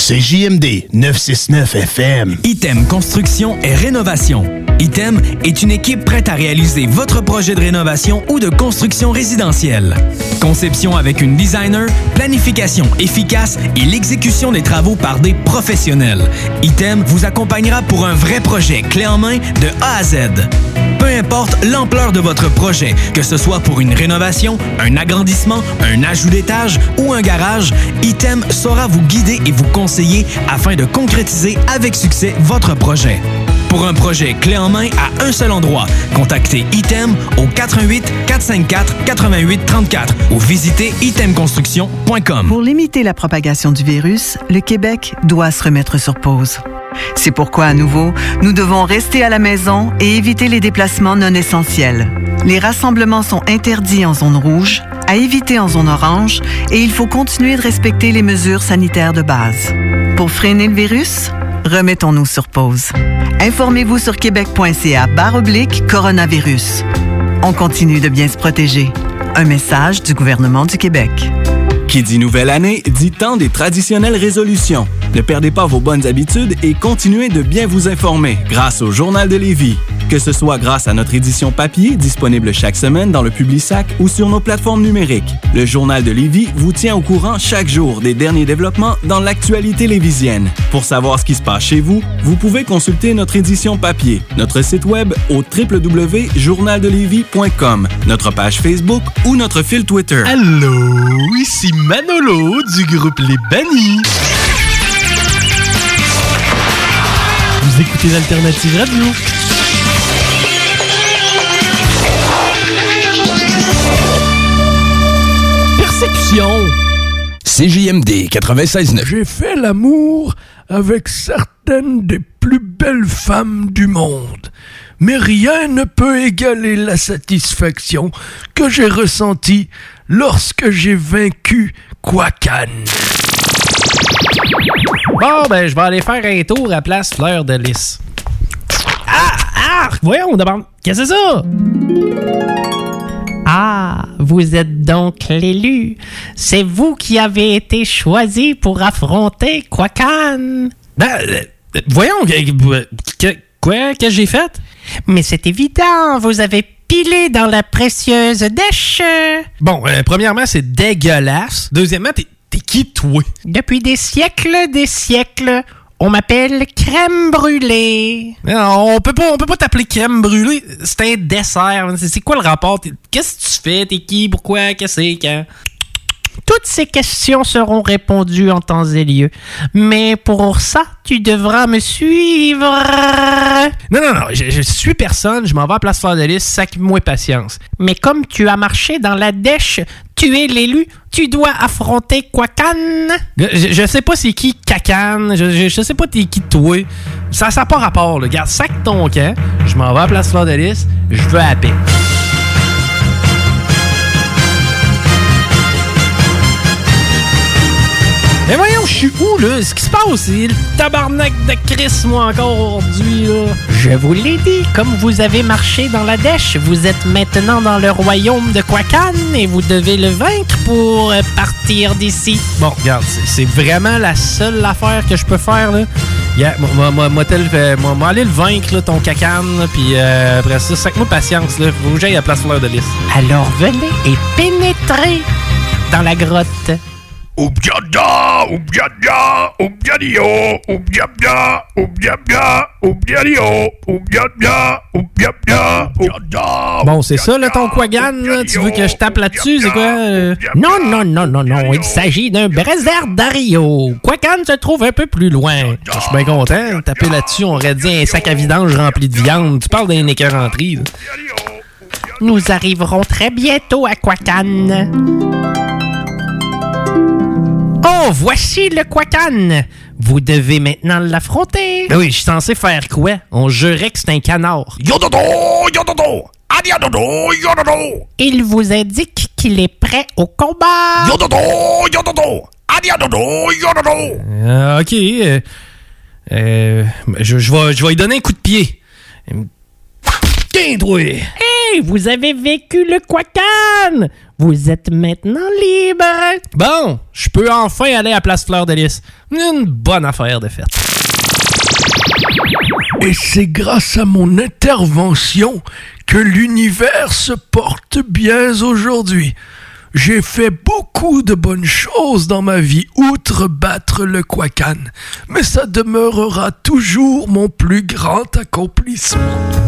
CJMD 969 FM. Item Construction et Rénovation. Item est une équipe prête à réaliser votre projet de rénovation ou de construction résidentielle. Conception avec une designer, planification efficace et l'exécution des travaux par des professionnels. Item vous accompagnera pour un vrai projet clé en main de A à Z. Peu importe l'ampleur de votre projet, que ce soit pour une rénovation, un agrandissement, un ajout d'étage ou un garage, Item saura vous guider et vous conseiller afin de concrétiser avec succès votre projet. Pour un projet clé en main à un seul endroit, contactez Item au 88 454 88 34 ou visitez itemconstruction.com. Pour limiter la propagation du virus, le Québec doit se remettre sur pause. C'est pourquoi, à nouveau, nous devons rester à la maison et éviter les déplacements non essentiels. Les rassemblements sont interdits en zone rouge, à éviter en zone orange, et il faut continuer de respecter les mesures sanitaires de base. Pour freiner le virus, remettons-nous sur pause. Informez-vous sur québec.ca/coronavirus. On continue de bien se protéger. Un message du gouvernement du Québec. Qui dit nouvelle année, dit temps des traditionnelles résolutions. Ne perdez pas vos bonnes habitudes et continuez de bien vous informer grâce au Journal de Lévis. Que ce soit grâce à notre édition papier, disponible chaque semaine dans le Publisac ou sur nos plateformes numériques. Le Journal de Lévis vous tient au courant chaque jour des derniers développements dans l'actualité lévisienne. Pour savoir ce qui se passe chez vous, vous pouvez consulter notre édition papier, notre site web au www.journaldelévis.com, notre page Facebook ou notre fil Twitter. Allô, ici Manolo du groupe Les Bannis. Vous écoutez l'Alternative Radio. Perception. CJMD 96.9. J'ai fait l'amour avec certaines des plus belles femmes du monde, mais rien ne peut égaler la satisfaction que j'ai ressentie lorsque j'ai vaincu Quacan. Bon, ben, je vais aller faire un tour à Place Fleur de Lys. Ah! Voyons, on demande. Qu'est-ce que c'est ça? Ah, vous êtes donc l'élu. C'est vous qui avez été choisi pour affronter Quacan. Voyons, quoi que j'ai fait? Mais c'est évident, vous avez pilé dans la précieuse dèche. Bon, premièrement, c'est dégueulasse. Deuxièmement, t'es qui, toi? Depuis des siècles, on m'appelle Crème Brûlée. Non, on peut pas t'appeler Crème Brûlée. C'est un dessert. C'est quoi le rapport? Qu'est-ce que tu fais? T'es qui? Pourquoi? Qu'est-ce que c'est? Quand? Toutes ces questions seront répondues en temps et lieu. Mais pour ça, tu devras me suivre. Non, je suis personne. Je m'en vais à Place Fleur de Lys. Sac-moi patience. Mais comme tu as marché dans la dèche, tu es l'élu. Tu dois affronter Quacan. Je sais pas c'est qui Cacan. Je sais pas t'es qui toi. Ça n'a pas rapport. Là. Regarde, sac ton camp. Je m'en vais à Place Fleur de Lys. Je veux à la paix. Mais voyons, je suis où, là? Ce qui se passe, c'est le tabarnak de Chris, moi, encore aujourd'hui, là. Je vous l'ai dit, comme vous avez marché dans la dèche, vous êtes maintenant dans le royaume de Quacan et vous devez le vaincre pour partir d'ici. Bon, regarde, c'est vraiment la seule affaire que je peux faire, là. Moi, aller le vaincre, là, ton Cacan, puis après ça, sac-moi patience, là. Faut que j'aille à Place Fleur de Lys. Alors venez et pénétrez dans la grotte. Oubdiada, oubdiada, oubdiadio, oubdiabia, oubdiabia, oubdiadio, oubdiabia, oubdiabia, oubdiada. Bon, c'est ça, là, ton Quagan, là? Tu veux que je tape là-dessus, c'est quoi? Non, il s'agit d'un Brésildardario. Quacan se trouve un peu plus loin. Je suis bien content. Taper là-dessus, on aurait dit un sac à vidange rempli de viande. Tu parles d'un écœuranterie, là. Nous arriverons très bientôt à Quacan. Oh, voici le Quacan. Vous devez maintenant l'affronter. Oui, je suis censé faire quoi? On jurait que c'est un canard. Yododo, yododo, adiadodo, yododo. Il vous indique qu'il est prêt au combat. Yododo, yododo, adiadodo, yododo. OK. Je vais lui donner un coup de pied. Tiens, toi. Hey, vous avez vécu le Quacan. Vous êtes maintenant libre. Bon, je peux enfin aller à Place Fleur de Lys. Une bonne affaire de fête. Et c'est grâce à mon intervention que l'univers se porte bien aujourd'hui. J'ai fait beaucoup de bonnes choses dans ma vie, outre battre le Quacan, mais ça demeurera toujours mon plus grand accomplissement.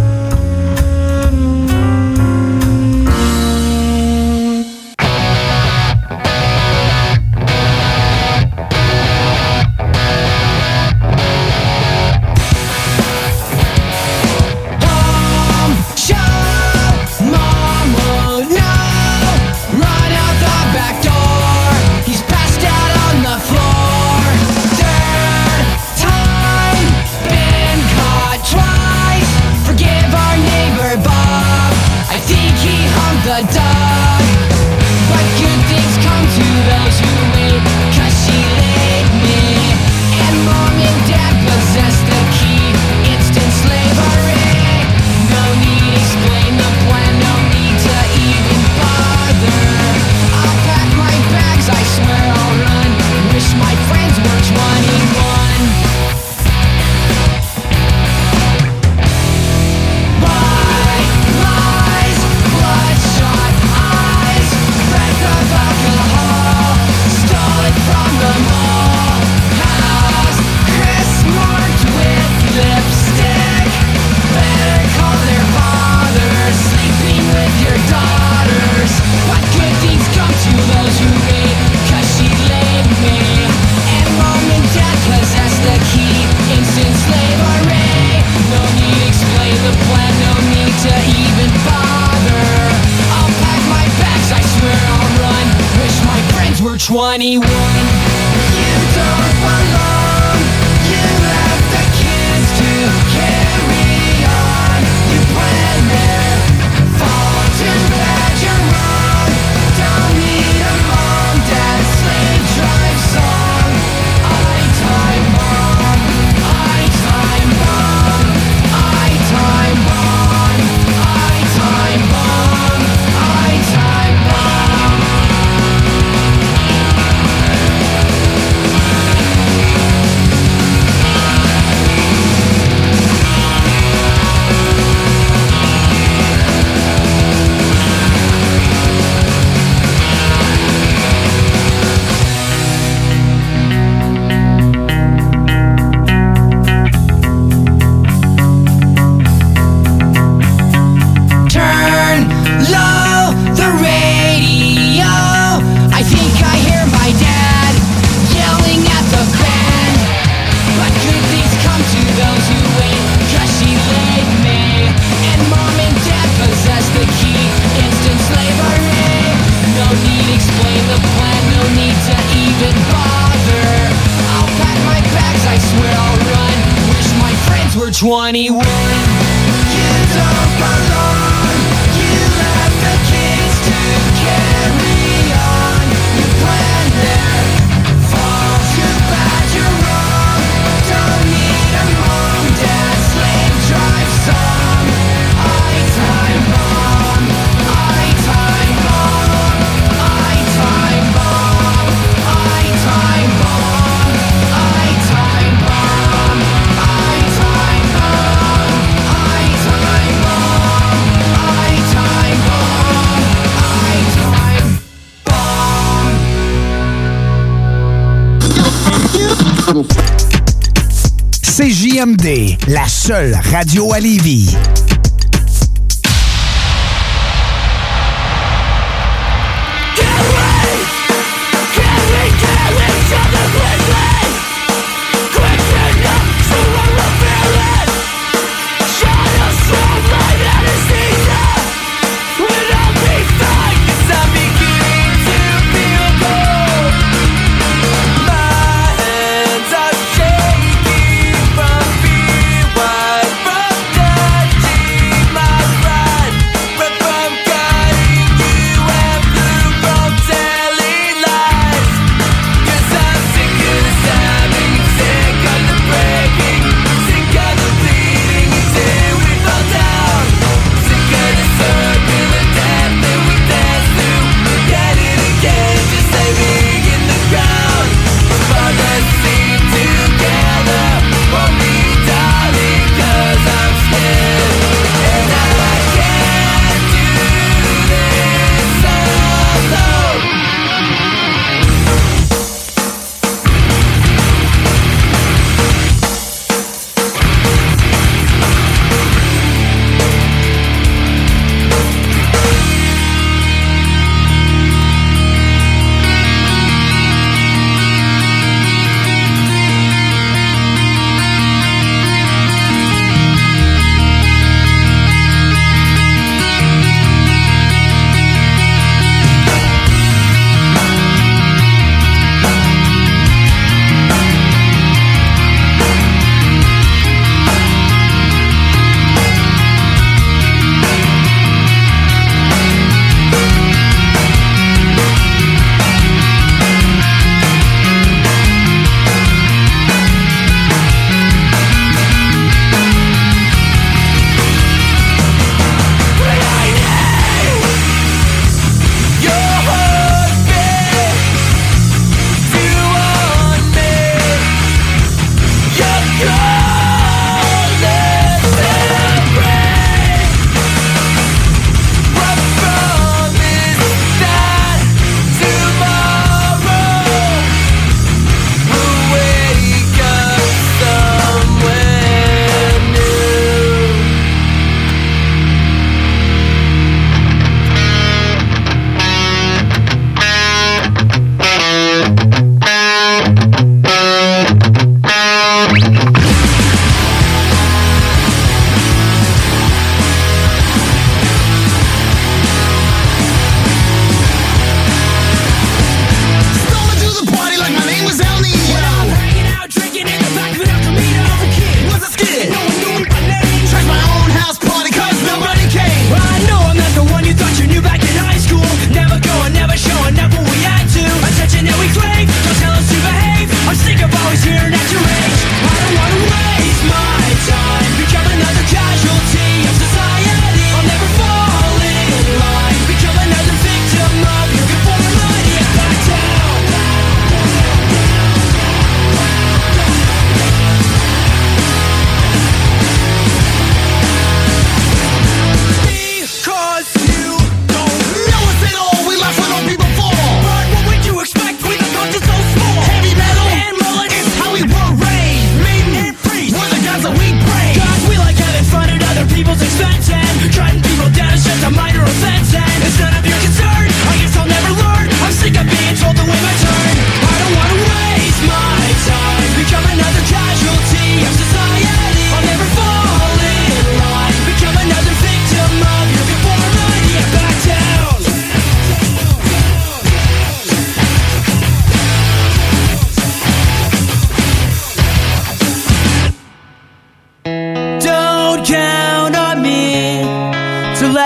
CJMD, la seule radio à Lévis.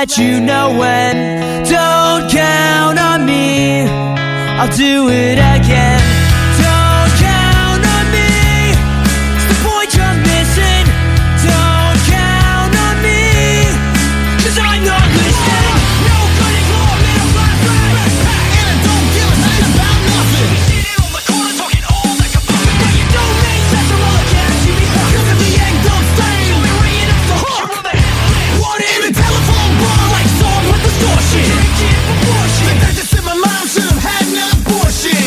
let you know when. Don't count on me, I'll do it again. Don't count on me, it's the point you're missing. Don't count on me, 'cause I'm not listening. No cutting law, middle class backpack, and I don't give a shit about nothing. Sitting on the corner talking all like a puppet, but you don't make sense of all the cash you be fucking. 'Cause if the egg don't stay, you'll be ringing up the hook. Want it in the telephone bar like song with distortion. Drinking proportion, that just in my mind should have had an abortion.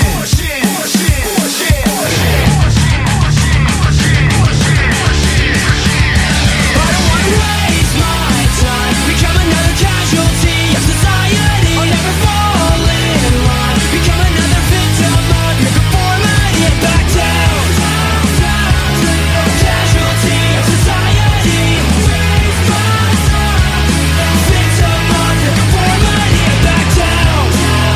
I don't wanna waste my time, become another casualty of society. I'll never fall in line, become another victim of your conformity. And back down, casualty of society. Waste my time, victim of your conformity. And back down,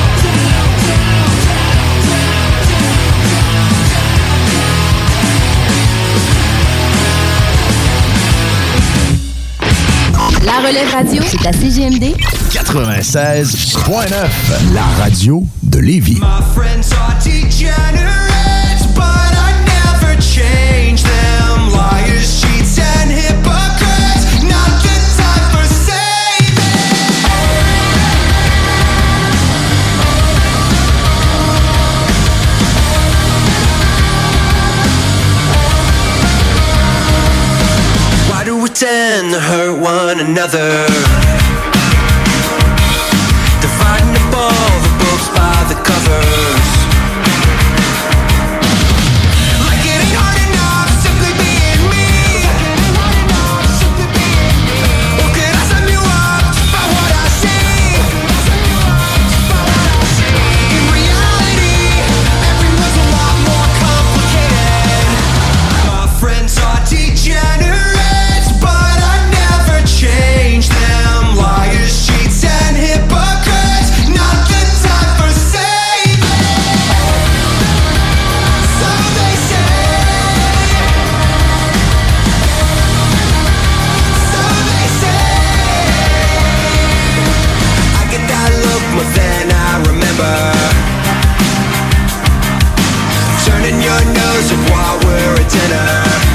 La Relève Radio, c'est à CGMD 96.9, la radio de Lévis. my friends are degenerates, but I never change them. Liars, cheats, and hypocrites, not the time for saving. Why do we tend to hurt one another? Dividing up all the books by the covers. Like it ain't hard enough simply being me. Or could I sum you up just by what I see? In reality, everyone's a lot more complicated. My friends are degenerates, but I never change them. Liars, cheats, and hypocrites, not the time for saving. So they say. So they say. I get that look more than I remember. Turning your nose up while we're at dinner.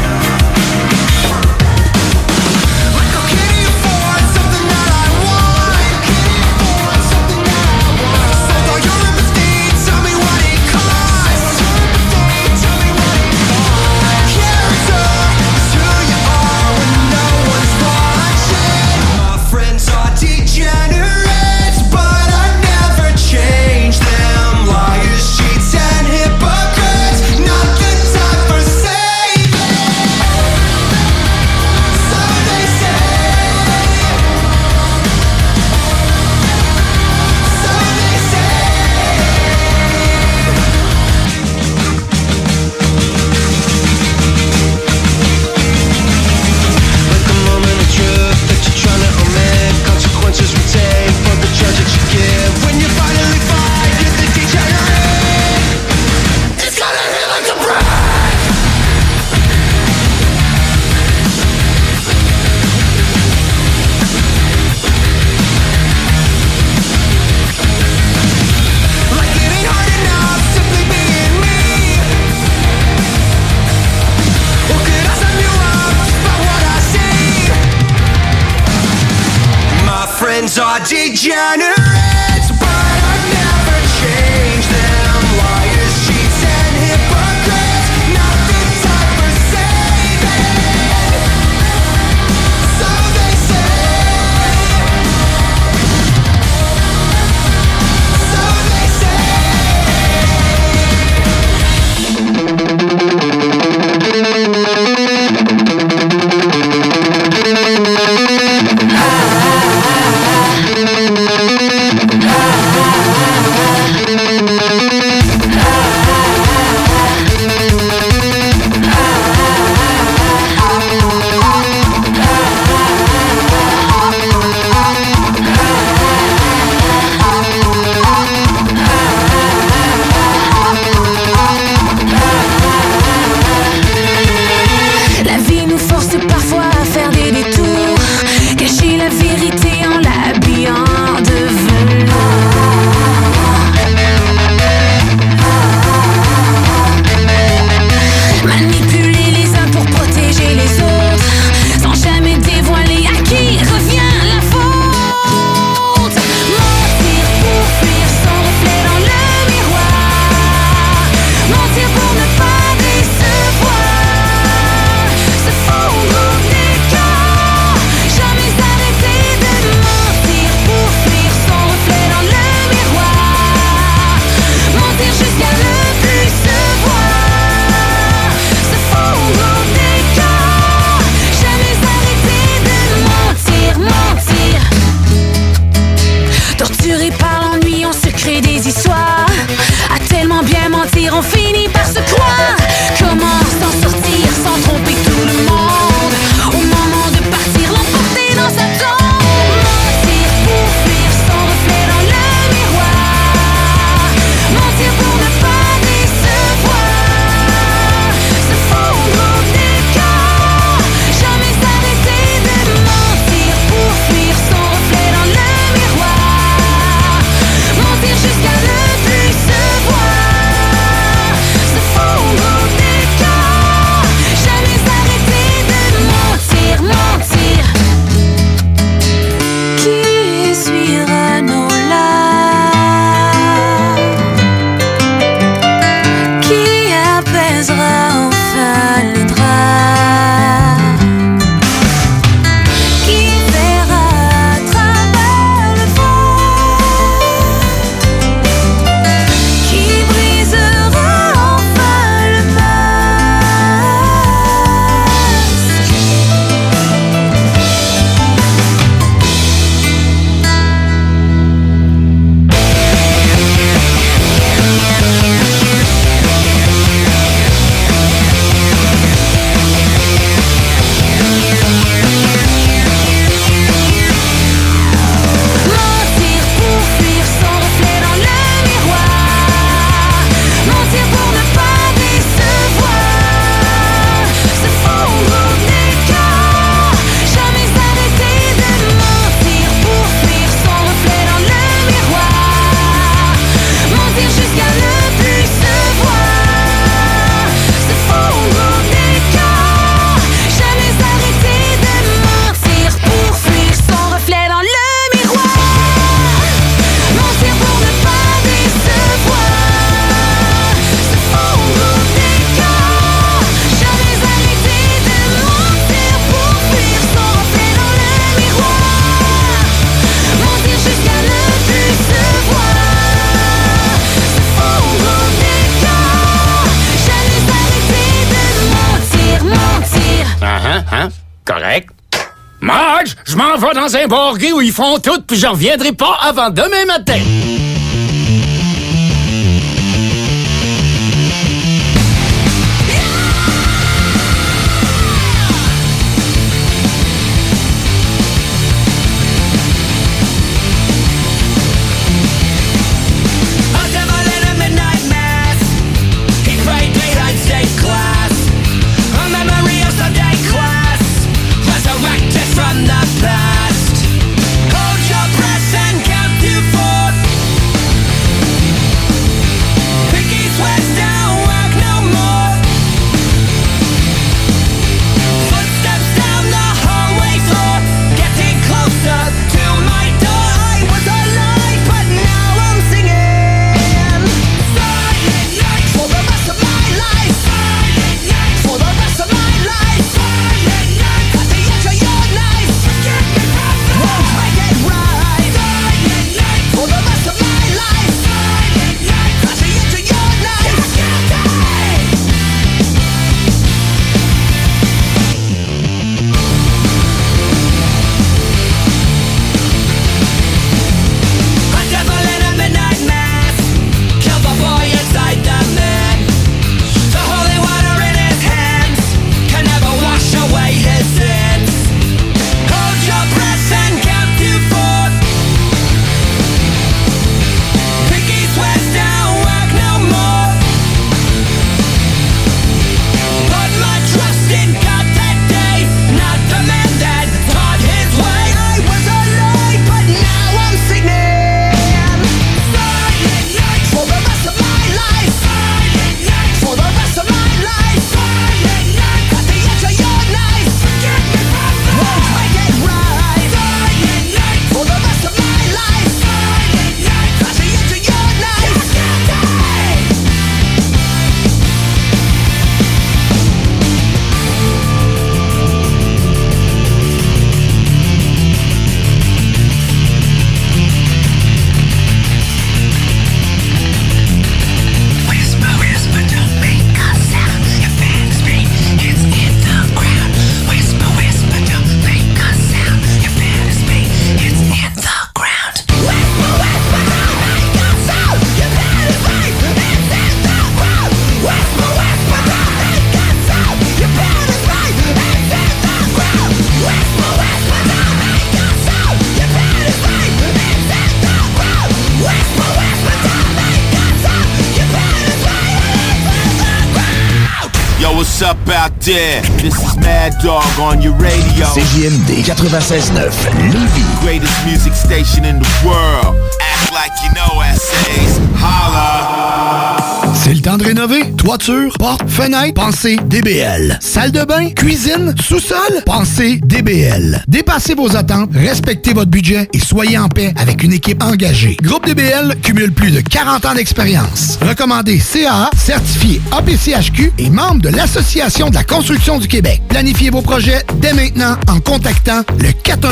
Like, oh, can you afford something that I want? Can you afford something that I want? Sold all your empathy, tell me what it costs. Tell me what it costs. Character is who you are when no one's watching. My friends are degenerates, but I never change them. Liars, cheats, and hypocrites, not the time for saving. So they say. So they say. Like a moment of truth that you're trying to omit. Consequences we take for the judge that you give. When you finally find you're the degenerate, it's gonna hit like a brick. Like it ain't hard enough simply being me. Or could I sum you up just by what I see? My friends are degenerates, but I never change them. Liars, cheats, and hypocrites, not the time for saving. So they say. So they say. Correct. Marge, je m'en vais dans un bar gay où ils font tout, puis je reviendrai pas avant demain matin. From the past, hold your breath and count to 4. Pickies west down, work no more. Footsteps down the hallway floor, getting closer to my door. I was alive, but now I'm singing. Silent night for the rest of my life. Silent night for the rest of my life. Silent night at the edge of your knife. Get me from the won't make it right. Silent night for the rest of my life. Silent night at the edge of your knife. Get a devil in a midnight mass, kill the boy inside the man. The holy water in his hands can never wash away his sins. Hold your breath and count to 4. Pickies west down, work no more. Put my trust in God that day, not the man that taught his way. I was alive, but now I'm singing. Silent night for the rest of my life. Silent night for the rest of my life. Silent night at the edge of your knife. Get me from the won't make it right. Silent night for the rest of my life. Silent night at the edge of your knife. Whisper, whisper, don't make a sound. Your fan's scream, it's in the ground. Whisper, whisper, don't make a sound. Your fan's scream, it's in the ground. Whisper, whisper, don't make a sound. Your fan's scream, it's in the ground. Whisper, whisper, don't make a sound. Your fan's scream, it's in the ground. Whisper, whisper, don't make a sound. Your fan's scream, it's in the ground. Whisper, whisper, don't make a sound. Your fan's scream, it's in the ground. Yo, what's up out there? This is Mad Dog on your radio. CJMD 96.9 Lévis. Greatest music station in the world. Act like you know essays. Holla! C'est le temps de rénover. Toiture, porte, fenêtre, pensez DBL. Salle de bain, cuisine, sous-sol, pensez DBL. Dépassez vos attentes, respectez votre budget et soyez en paix avec une équipe engagée. Groupe DBL cumule plus de 40 ans d'expérience. Recommandé CAA, certifié APCHQ et membre de l'Association de la construction du Québec. Planifiez vos projets dès maintenant en contactant le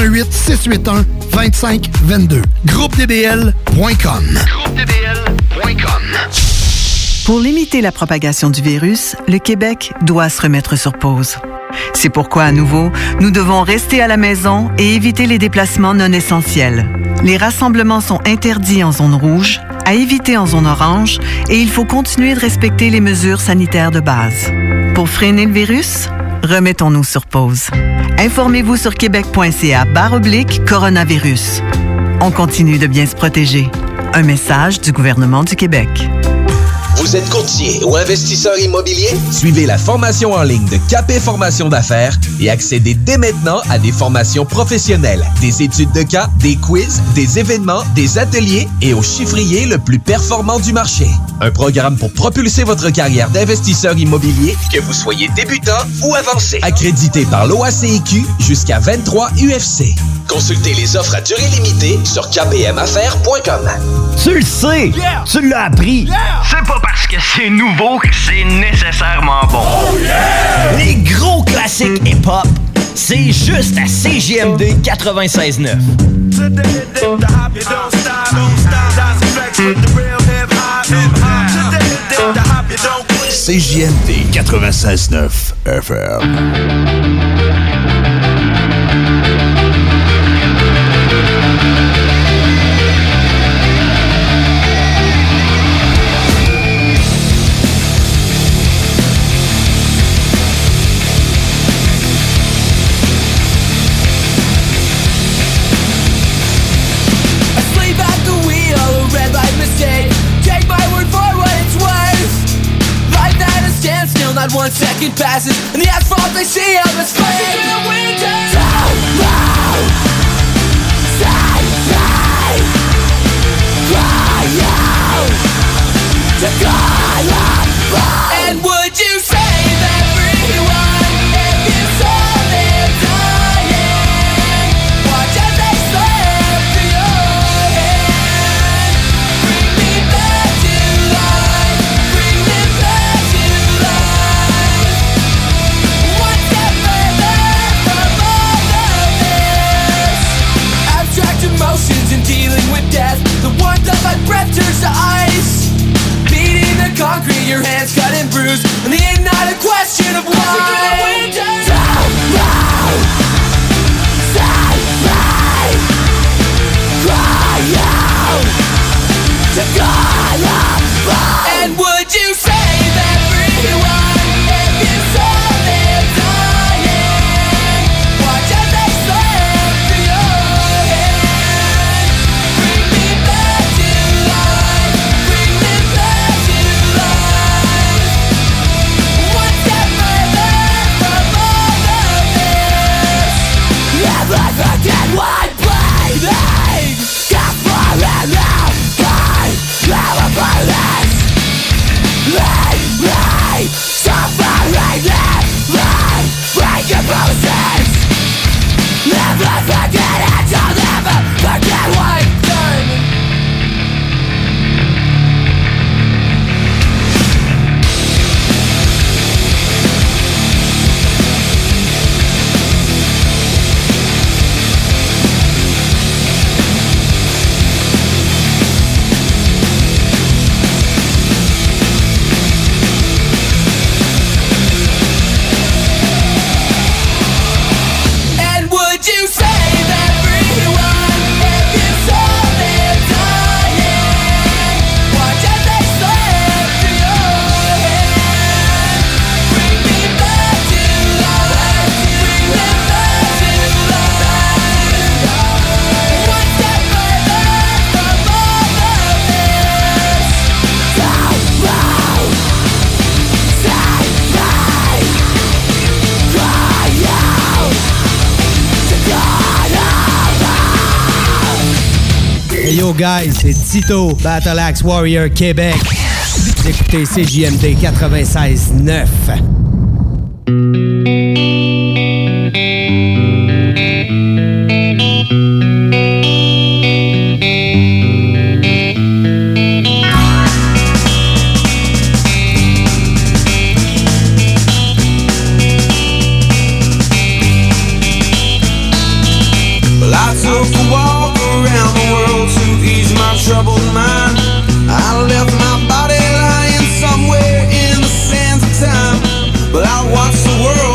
418-681-2522. GroupeDBL.com. GroupeDBL.com. Pour limiter la propagation du virus, le Québec doit se remettre sur pause. C'est pourquoi, à nouveau, nous devons rester à la maison et éviter les déplacements non essentiels. Les rassemblements sont interdits en zone rouge, à éviter en zone orange, et il faut continuer de respecter les mesures sanitaires de base. Pour freiner le virus, remettons-nous sur pause. Informez-vous sur québec.ca/coronavirus. On continue de bien se protéger. Un message du gouvernement du Québec. Vous êtes courtier ou investisseur immobilier? Suivez la formation en ligne de Capé Formation d'affaires et accédez dès maintenant à des formations professionnelles, des études de cas, des quiz, des événements, des ateliers et au chiffrier le plus performant du marché. Un programme pour propulser votre carrière d'investisseur immobilier, que vous soyez débutant ou avancé. Accrédité par l'OACIQ jusqu'à 23 UFC. Consultez les offres à durée limitée sur kpmaffaires.com. Tu le sais! Yeah! Tu l'as appris! Yeah! C'est pas parce que c'est nouveau que c'est nécessairement bon. Oh yeah! Les gros classiques hip-hop, c'est juste à CJMD 96.9. CJMD 96.9 FM. and 1 second passes, and the asphalt they see of is flashing through the window. Don't move, stay, cry out to God above. And would you save everyone if you saw them dying? Watch as they slip through your hand. Bring me back to life, bring me back to life. One step further from all of this. Abstract emotions and dealing with death. The warmth of my breath turns to ice. Beating the concrete, your hands cut and bruised, and the end not a question of why. Don't move, stay right, cry out to God above. And would you save everyone if you saw them dying? Watch as they slip through your hand. Bring me back to life, bring me back to life. One step further from all of this. Never forget why bleeding. Got falling out, God, never police. Leave me suffering, leave me break your process. Never forget it, I'll never forget what I've done. And would you save everyone if you saw them dying? Watch as they slip through your hand. Bring me back to life, bring me back to life. One step further from all of this. Don't move, stay right, cry out to God above. Hey yo guys, c'est Tito, Battle Axe Warrior Québec. Vous écoutez CJMD 96.9. Well, I took a walk around the world to ease my troubled mind. I left my body lying somewhere in the sands of time, but I watched the world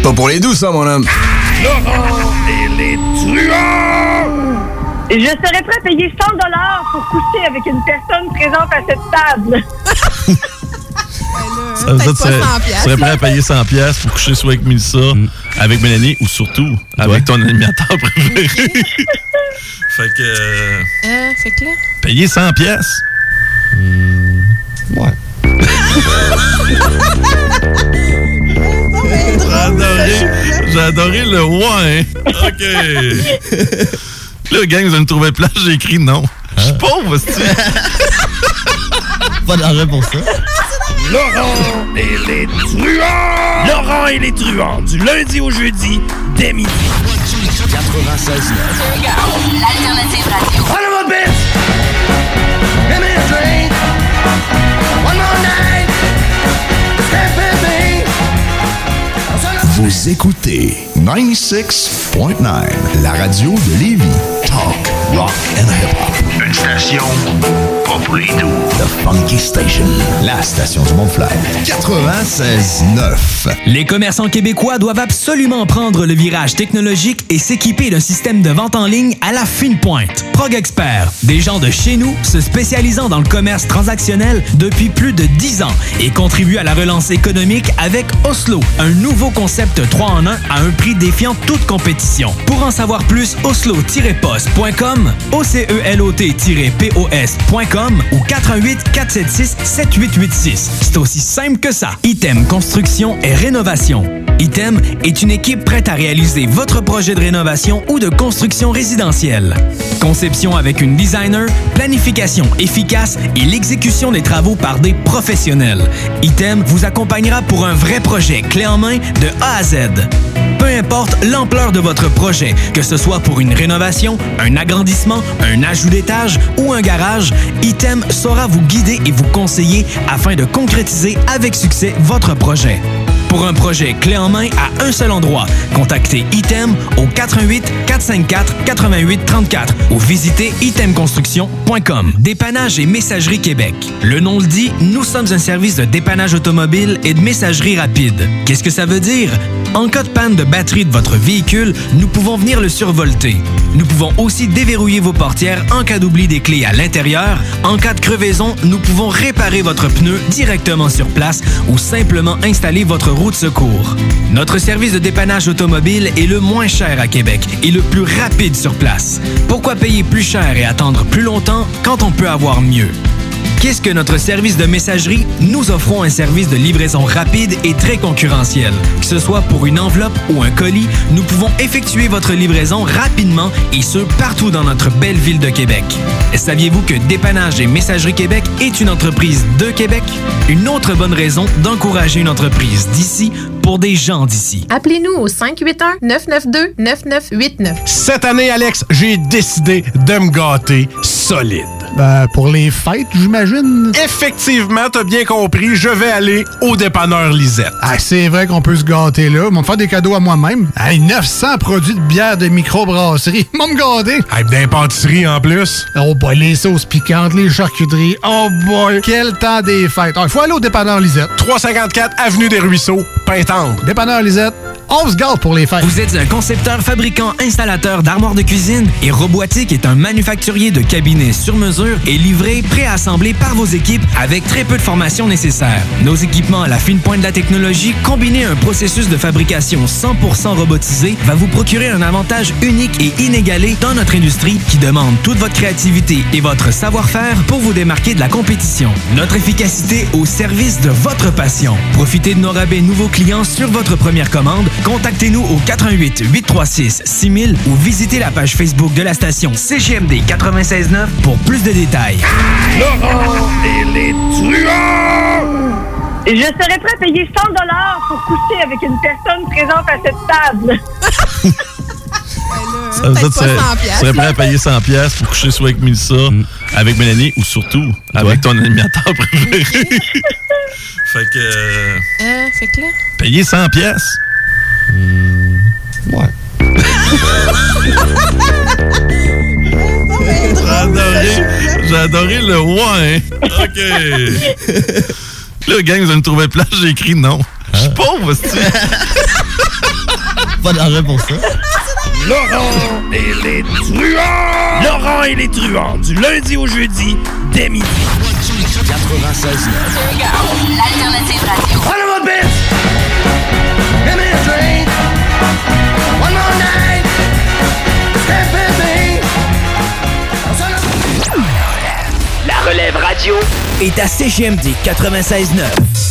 Pas pour les doux, ça, mon homme. Laurent et les truands! Je serais prêt à payer 100 $ pour coucher avec une personne présente à cette table. Ça veut dire que tu serais prêt à payer 100$ pour coucher soit avec Mélissa, avec Mélanie ou surtout avec ton animateur préféré. Fait que là. Payer 100$. Ouais. J'ai adoré le ouais. OK. Là, gang, vous allez me trouver plate, j'ai écrit non. Je suis pauvre, c'est Pas d'argent pour ça. Laurent et les truands! Laurent et les truands, du lundi au jeudi, dès midi. 96.9. L'alternative radio. One more bitch! Give me a drink! One more night! Stay with me! Vous écoutez 96.9, la radio de Lévis. Talk, rock and hip-hop. Une station pas pour les doux. The Funky Station, la station du Mont-Fly. 96.9. Les commerçants québécois doivent absolument prendre le virage technologique et s'équiper d'un système de vente en ligne à la fine pointe. Prog Expert, des gens de chez nous se spécialisant dans le commerce transactionnel depuis plus de 10 ans et contribuent à la relance économique avec Oslo, un nouveau concept 3 en 1 à un prix défiant toute compétition. Pour en savoir plus, oslo-post.com, ocelot-pos.com ou 418-476-7886. C'est aussi simple que ça. Item Construction et Rénovation. Item est une équipe prête à réaliser votre projet de rénovation ou de construction résidentielle. Conception avec une designer, planification efficace et l'exécution des travaux par des professionnels. Item vous accompagnera pour un vrai projet clé en main de A à Z. Peu importe l'ampleur de votre projet, que ce soit pour une rénovation, un agrandissement, un ajout d'étage ou un garage, Item saura vous guider et vous conseiller afin de concrétiser avec succès votre projet. Pour un projet clé en main à un seul endroit, contactez Item au 88 454 88 34 ou visitez itemconstruction.com. Dépannage et messagerie Québec. Le nom le dit, nous sommes un service de dépannage automobile et de messagerie rapide. Qu'est-ce que ça veut dire? En cas de panne de batterie de votre véhicule, nous pouvons venir le survolter. Nous pouvons aussi déverrouiller vos portières en cas d'oubli des clés à l'intérieur. En cas de crevaison, nous pouvons réparer votre pneu directement sur place ou simplement installer votre roue de secours. Notre service de dépannage automobile est le moins cher à Québec et le plus rapide sur place. Pourquoi payer plus cher et attendre plus longtemps quand on peut avoir mieux? Qu'est-ce que notre service de messagerie? Nous offrons un service de livraison rapide et très concurrentiel. Que ce soit pour une enveloppe ou un colis, nous pouvons effectuer votre livraison rapidement et ce, partout dans notre belle ville de Québec. Saviez-vous que Dépannage et Messagerie Québec est une entreprise de Québec? Une autre bonne raison d'encourager une entreprise d'ici pour des gens d'ici. Appelez-nous au 581-992-9989. Cette année, Alex, j'ai décidé de me gâter solide. Pour les fêtes, j'imagine. Effectivement, t'as bien compris, je vais aller au dépanneur Lisette. Ah, c'est vrai qu'on peut se gâter là. Ils vont me faire des cadeaux à moi-même. Hey, 900 produits de bière de microbrasserie. Ils vont me gâter. Hey, d'impantisserie en plus. Oh boy, les sauces piquantes, les charcuteries. Oh boy, quel temps des fêtes. Il faut aller au dépanneur Lisette. 354 Avenue des Ruisseaux, Pintendre. Dépanneur Lisette. On se gâte pour les fêtes. Vous êtes un concepteur, fabricant, installateur d'armoires de cuisine et Robotique est un manufacturier de cabinets sur mesure et livré, préassemblé par vos équipes avec très peu de formation nécessaire. Nos équipements à la fine pointe de la technologie, combinés à un processus de fabrication 100% robotisé, va vous procurer un avantage unique et inégalé dans notre industrie qui demande toute votre créativité et votre savoir-faire pour vous démarquer de la compétition. Notre efficacité au service de votre passion. Profitez de nos rabais nouveaux clients sur votre première commande. Contactez-nous au 88 836 6000 ou visitez la page Facebook de la station CGMD 96.9 pour plus de détails. Laurent et les truands! Je serais prêt à payer 100 $ pour coucher avec une personne présente à cette table. Ça veut dire que tu serais prêt à payer 100$ pour coucher soit avec Mélissa, avec Mélanie ou surtout avec ton animateur préféré. Fait que là. Payer 100$. Ouais. J'ai adoré le ouais. OK. Là, gang, vous allez me trouver plate, j'ai écrit non. Je suis pauvre, c'est Pas d'argent pour ça. Laurent et les truands! Laurent et les truands, du lundi au jeudi, dès midi. 96.9. L'alternative radio. One more bit! Give me a drink. One more night. Stay with me. La relève radio est à CGMD 96.9.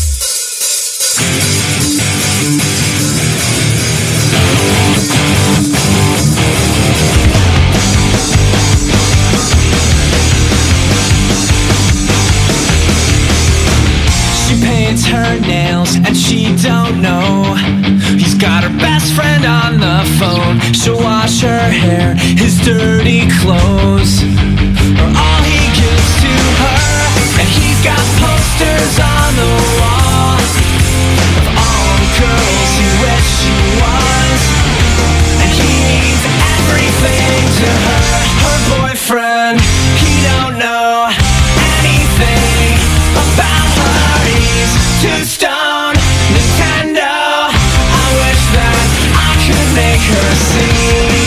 She paints her nails and she don't know. He's got her best friend on the phone. She'll wash her hair, his dirty clothes are all he gives to her. And he's got posters on the wall of all the girls he wished she was. And he means everything to her. Her boyfriend, he don't know anything about her. He's too stoned, Nintendo. I wish that I could make her see.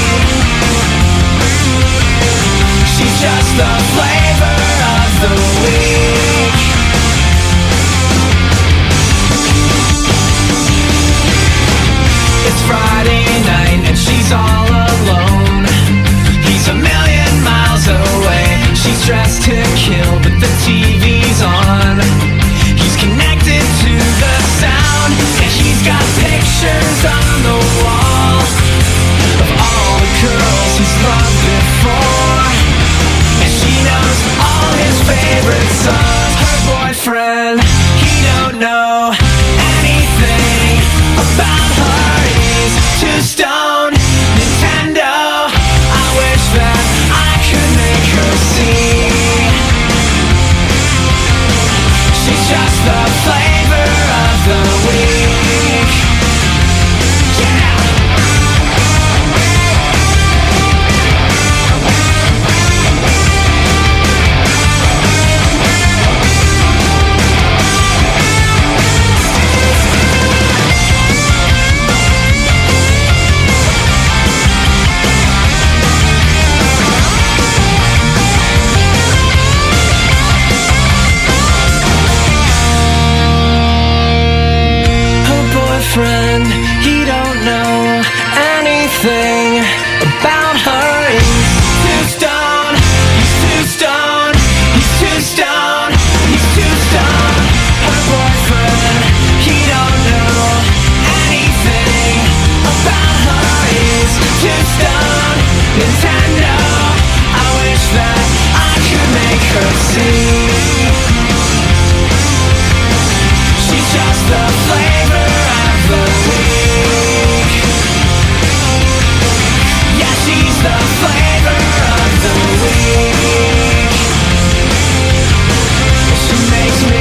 She's just the flavor of the week. It's Friday night and she's all alone. He's a million miles away. She's dressed to kill, but the TV's on. He's connected to the sound, and he's got pictures on the wall of all the girls he's loved before. And she knows all his favorite songs. Her boyfriend, he don't know anything about her. He's too stoned, Nintendo. I wish that I could make her see. She's just the flavor of the week. Yeah. Friend, he don't know anything about her. He's too stoned, he's too stoned, he's too stoned, he's too stoned. Her boyfriend, he don't know anything about her. He's too stoned, Nintendo. I wish that I could make her see. She's just the flavor of the week. Yeah, she's the flavor of the week. She makes me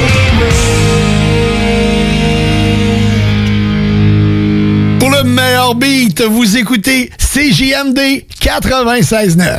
weak. Pour le meilleur beat, vous écoutez CJMD 96.9.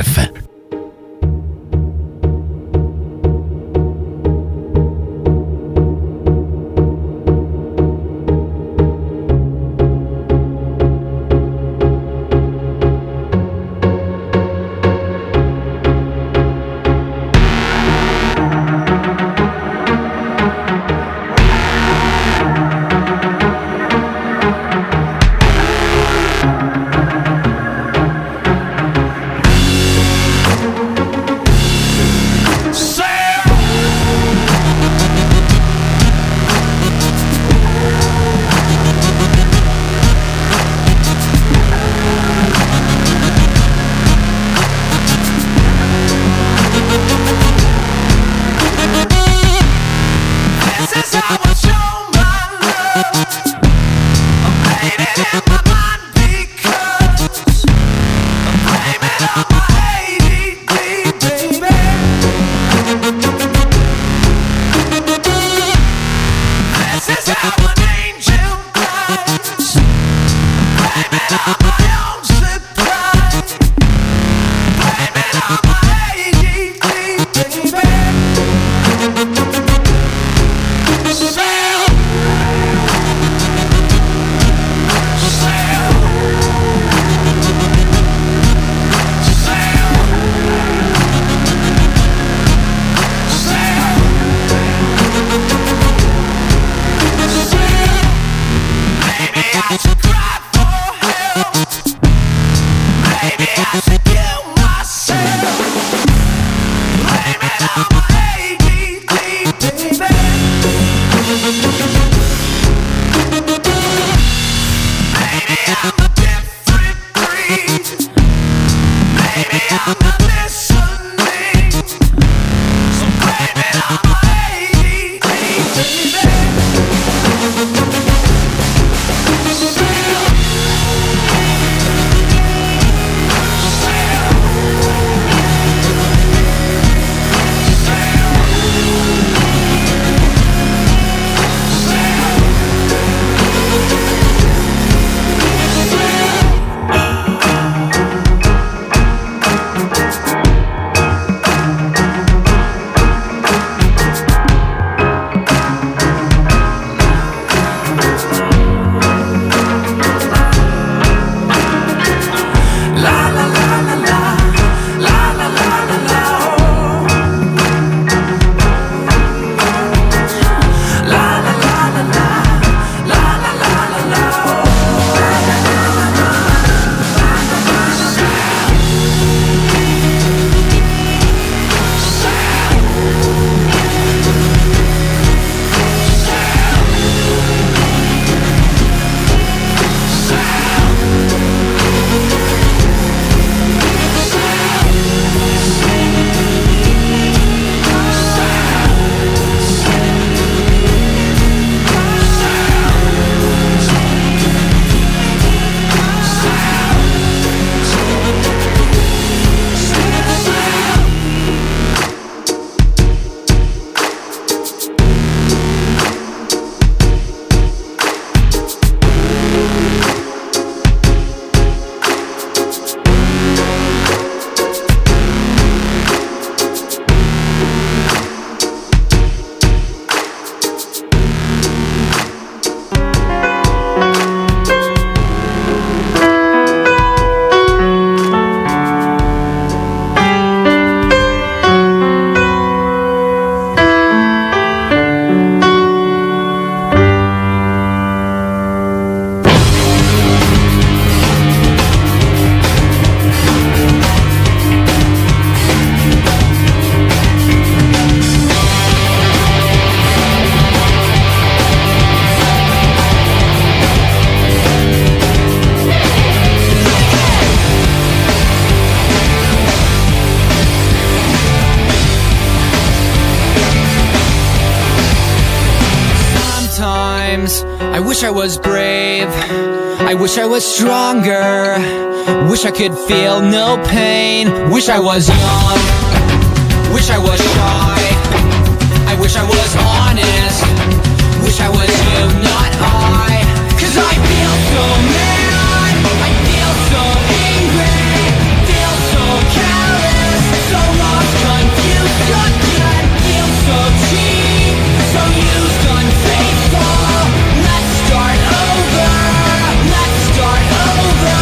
I wish I was brave. I wish I was stronger. Wish I could feel no pain. Wish I was young. Wish I was shy. I wish I was honest. Wish I was you, not I. 'Cause I feel so mad. I feel so angry. Feel so callous. So lost, confused, again. Feel so cheap. So used, unfaithful. Let's start over. Let's start over.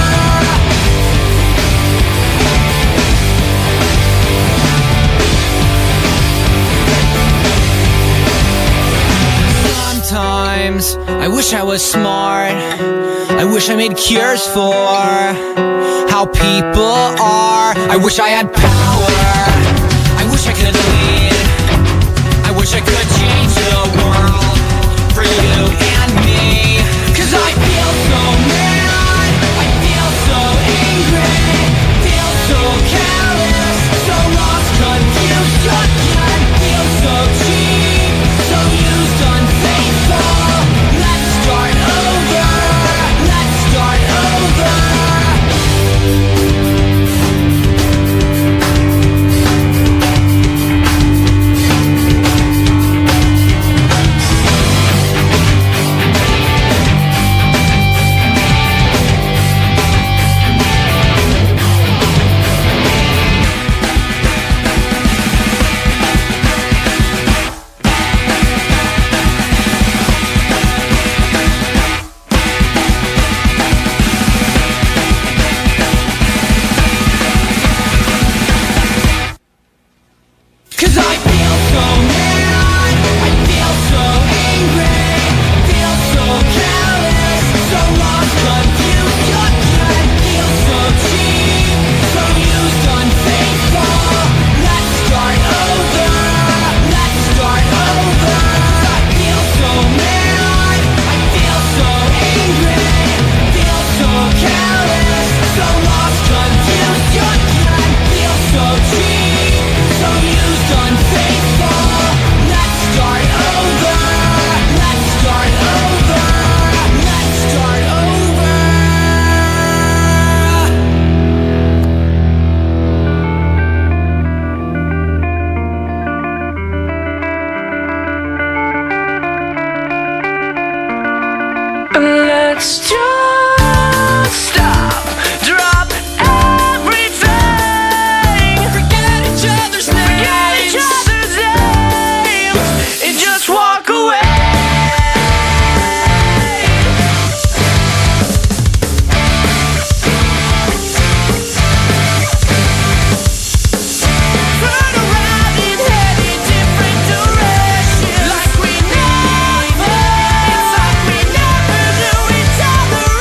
Sometimes I wish I was smart. I wish I made cures for how people are. I wish I had power. I wish I could lead. I wish I could change the world for you and me. 'Cause I feel so mad. I feel so angry. Feel so callous. So lost, confused, again. Feel so cheap. So used, unfaithful. Let's start over. Let's start over. Let's just stop, drop everything. Forget each other's names, and just walk away. Turn around and head in different directions, like we never knew each other.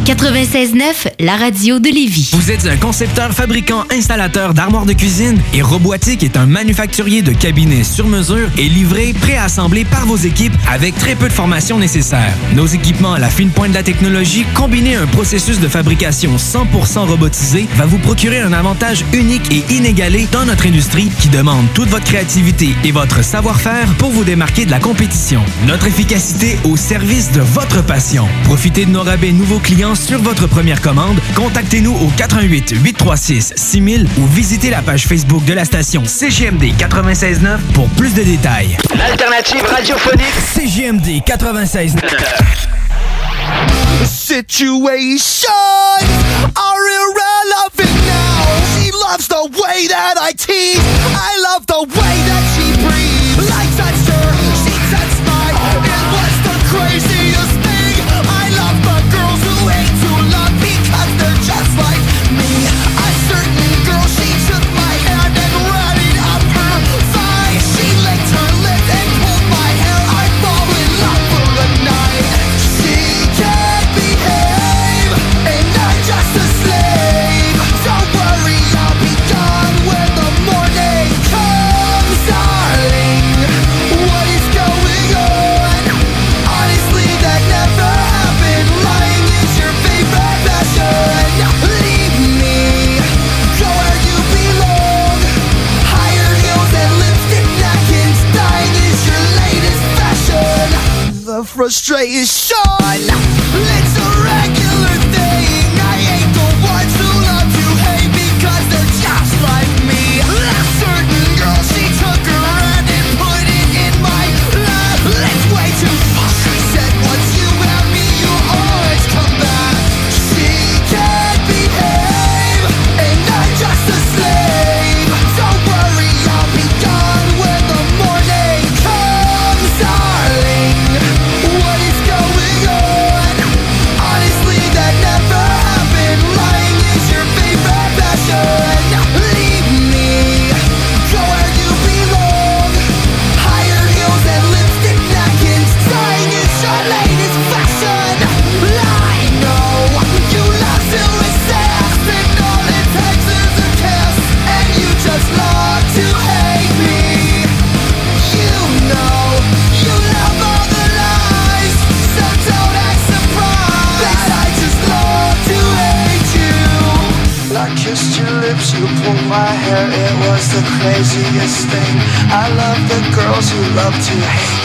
96.9, la radio de Lévis. Vous êtes un concepteur, fabricant, installateur d'armoires de cuisine et Robotique est un manufacturier de cabinets sur mesure et livré, préassemblé par vos équipes avec très peu de formation nécessaire. Nos équipements à la fine pointe de la technologie, combinés à un processus de fabrication 100% robotisé, va vous procurer un avantage unique et inégalé dans notre industrie qui demande toute votre créativité et votre savoir-faire pour vous démarquer de la compétition. Notre efficacité au service de votre passion. Profitez de nos rabais nouveaux clients sur votre première commande. Contactez-nous au 88 836 6000 ou visitez la page Facebook de la station CJMD 96.9 pour plus de détails. L'alternative radiophonique CJMD 96.9. Situations are irrelevant now. She loves the way that I tease. I love the way that she breathes. I touched her, she touched mine. It was the craziest thing. I love the girls who hate to love because they're just like me. A certain girl, she took my hand and ran it up her thigh. She licked her lips and pulled my hair. I fall in love for a night. She can't behave, and I'm just a slave. Don't worry, I'll be gone when the morning comes, darling. What is going on? Honestly, that never happened. Lying is your favorite passion. Leave me, go where you belong. Higher heels and lipstick napkins. Dying is your latest fashion. The frustration, it's a regular thing. I hate the ones who love to hate because they're just like me. A certain girl, she took her hand and put it in my lap. It's way too fast. She said, once you have me, you always come back. She can't behave, and I'm just a slave. Don't worry, I'll be gone when the morning comes, darling. What is going on? Honestly, that never happened. Lying is your favorite passion. Leave me, go where you belong. Higher heels and lipstick napkins. Dying is your latest fashion. I know you love to resist, and all it takes is a kiss, and you just love to hate me. You know you love all the lies, so don't act surprised that I just love to hate you. I kissed your lips, you pulled my hair, it was the craziest thing. I love the girls who love to hate.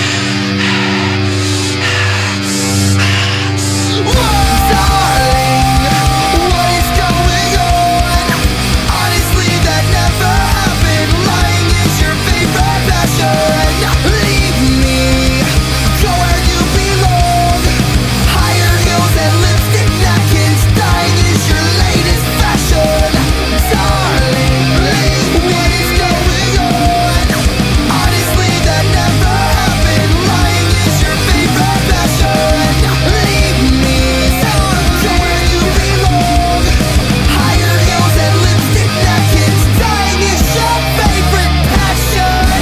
Darling, what is going on? Honestly, that never happened. Lying is your favorite passion. Leave me, go where you belong. Higher heels and lipstick napkins. Dying is your latest fashion. Darling, what is going on? Honestly, that never happened. Lying is your favorite passion. Leave me, go where you belong. Higher heels and lipstick napkins. Dying is your favorite passion.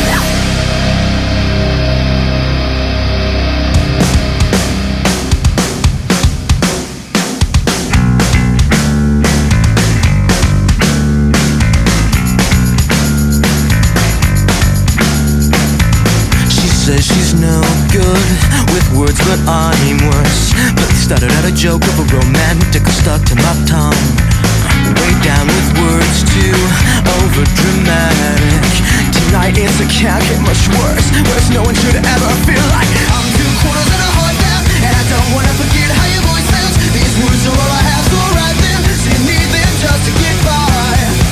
She says she's no good with words, but I'm worse. But started out a joke of a romantic stuck to my tongue. Way down with words too over dramatic. Tonight it's a can't get much worse. Worse, no one should ever feel like I'm 2 quarters and a heart down, and I don't wanna forget how your voice sounds. These words are all I have, so write them. So you need them just to get by.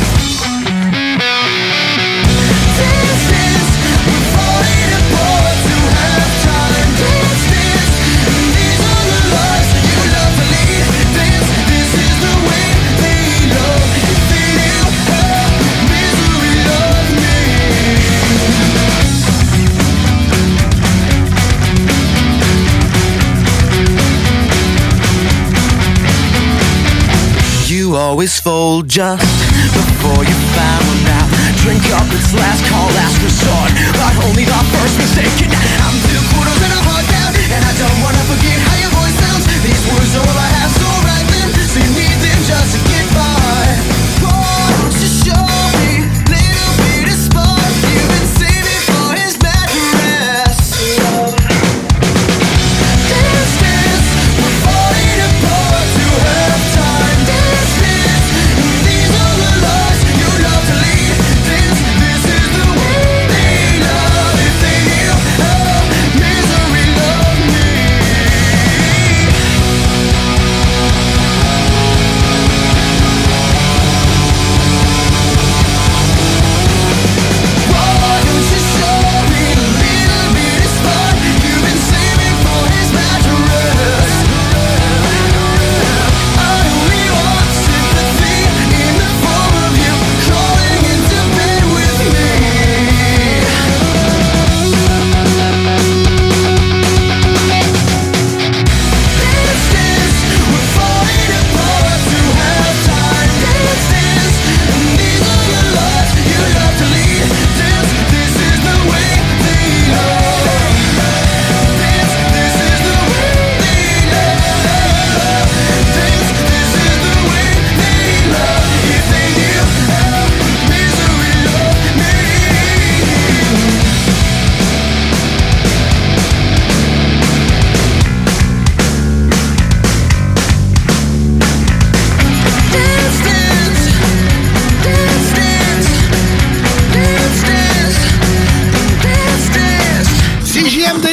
This is we're falling apart to have time. Dance, dance, and these are the lies you love to lead. Dance, this is the way they love. If they knew how misery loved me. You always fold just before you found out. Drink up, it's last call, last resort, but only the first mistake. I'm 2 quarters and a heart down, and I don't wanna forget how your voice sounds. These words are all I have, so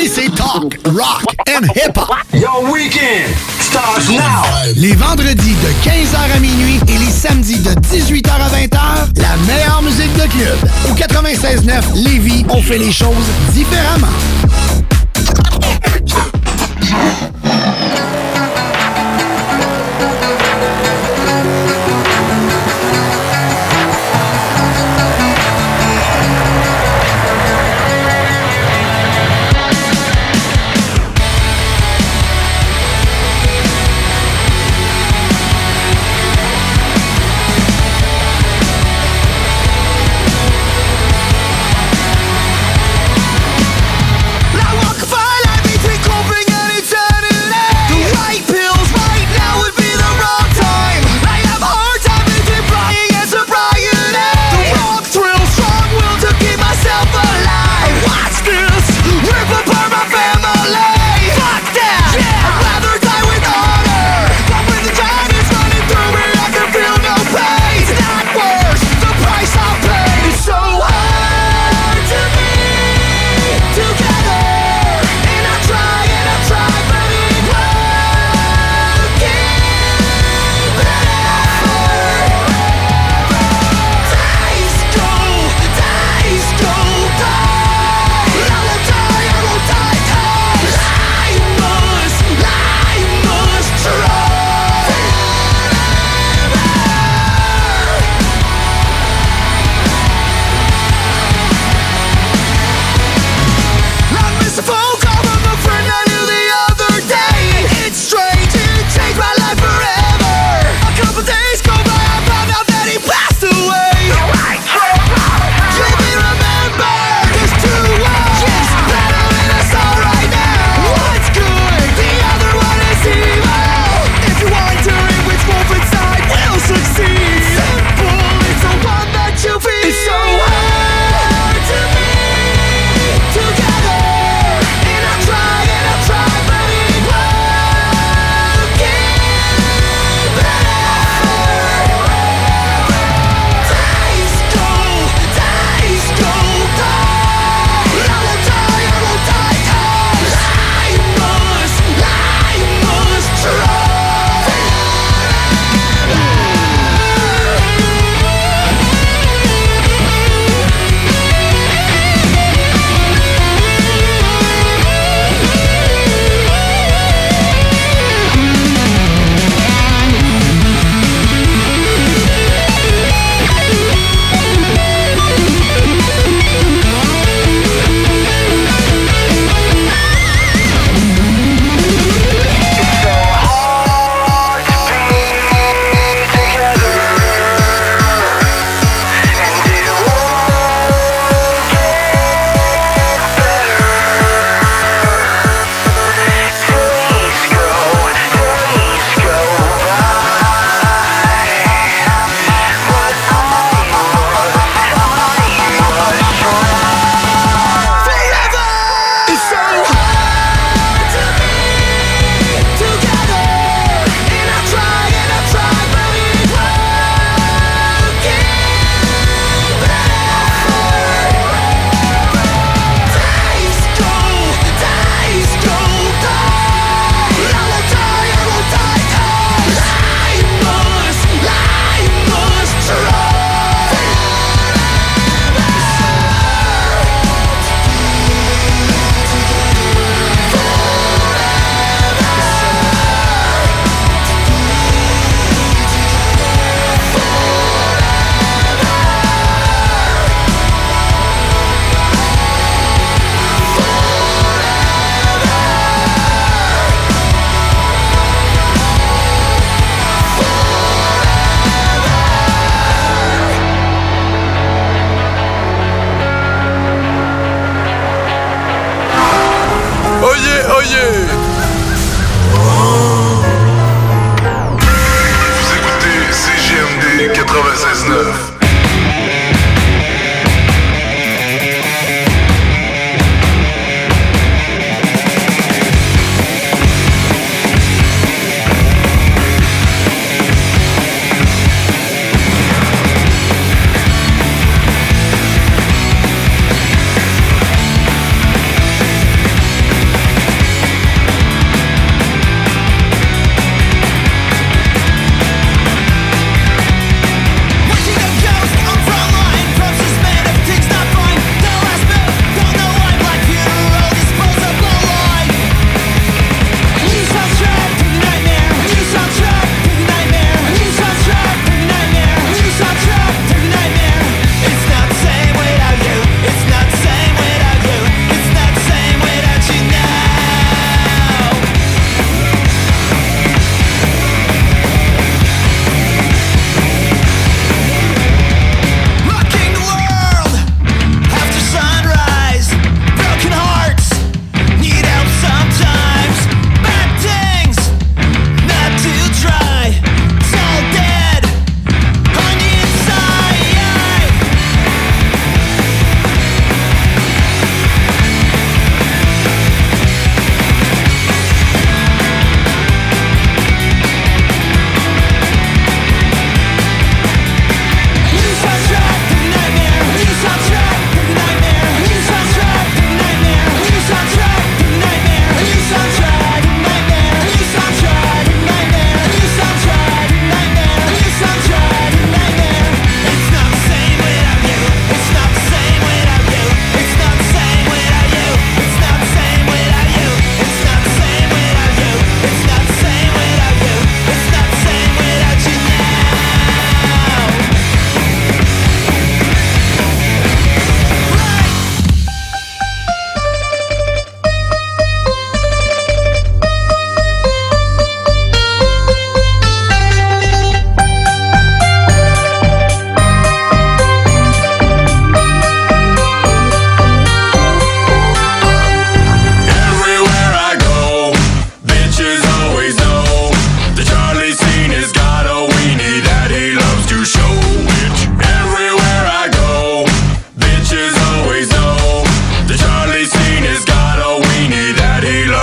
c'est Talk, Rock and Hip-Hop. Your weekend starts now. Les vendredis de 15h à minuit et les samedis de 18h à 20h, la meilleure musique de club. Au 96.9 Lévis, on fait les choses différemment.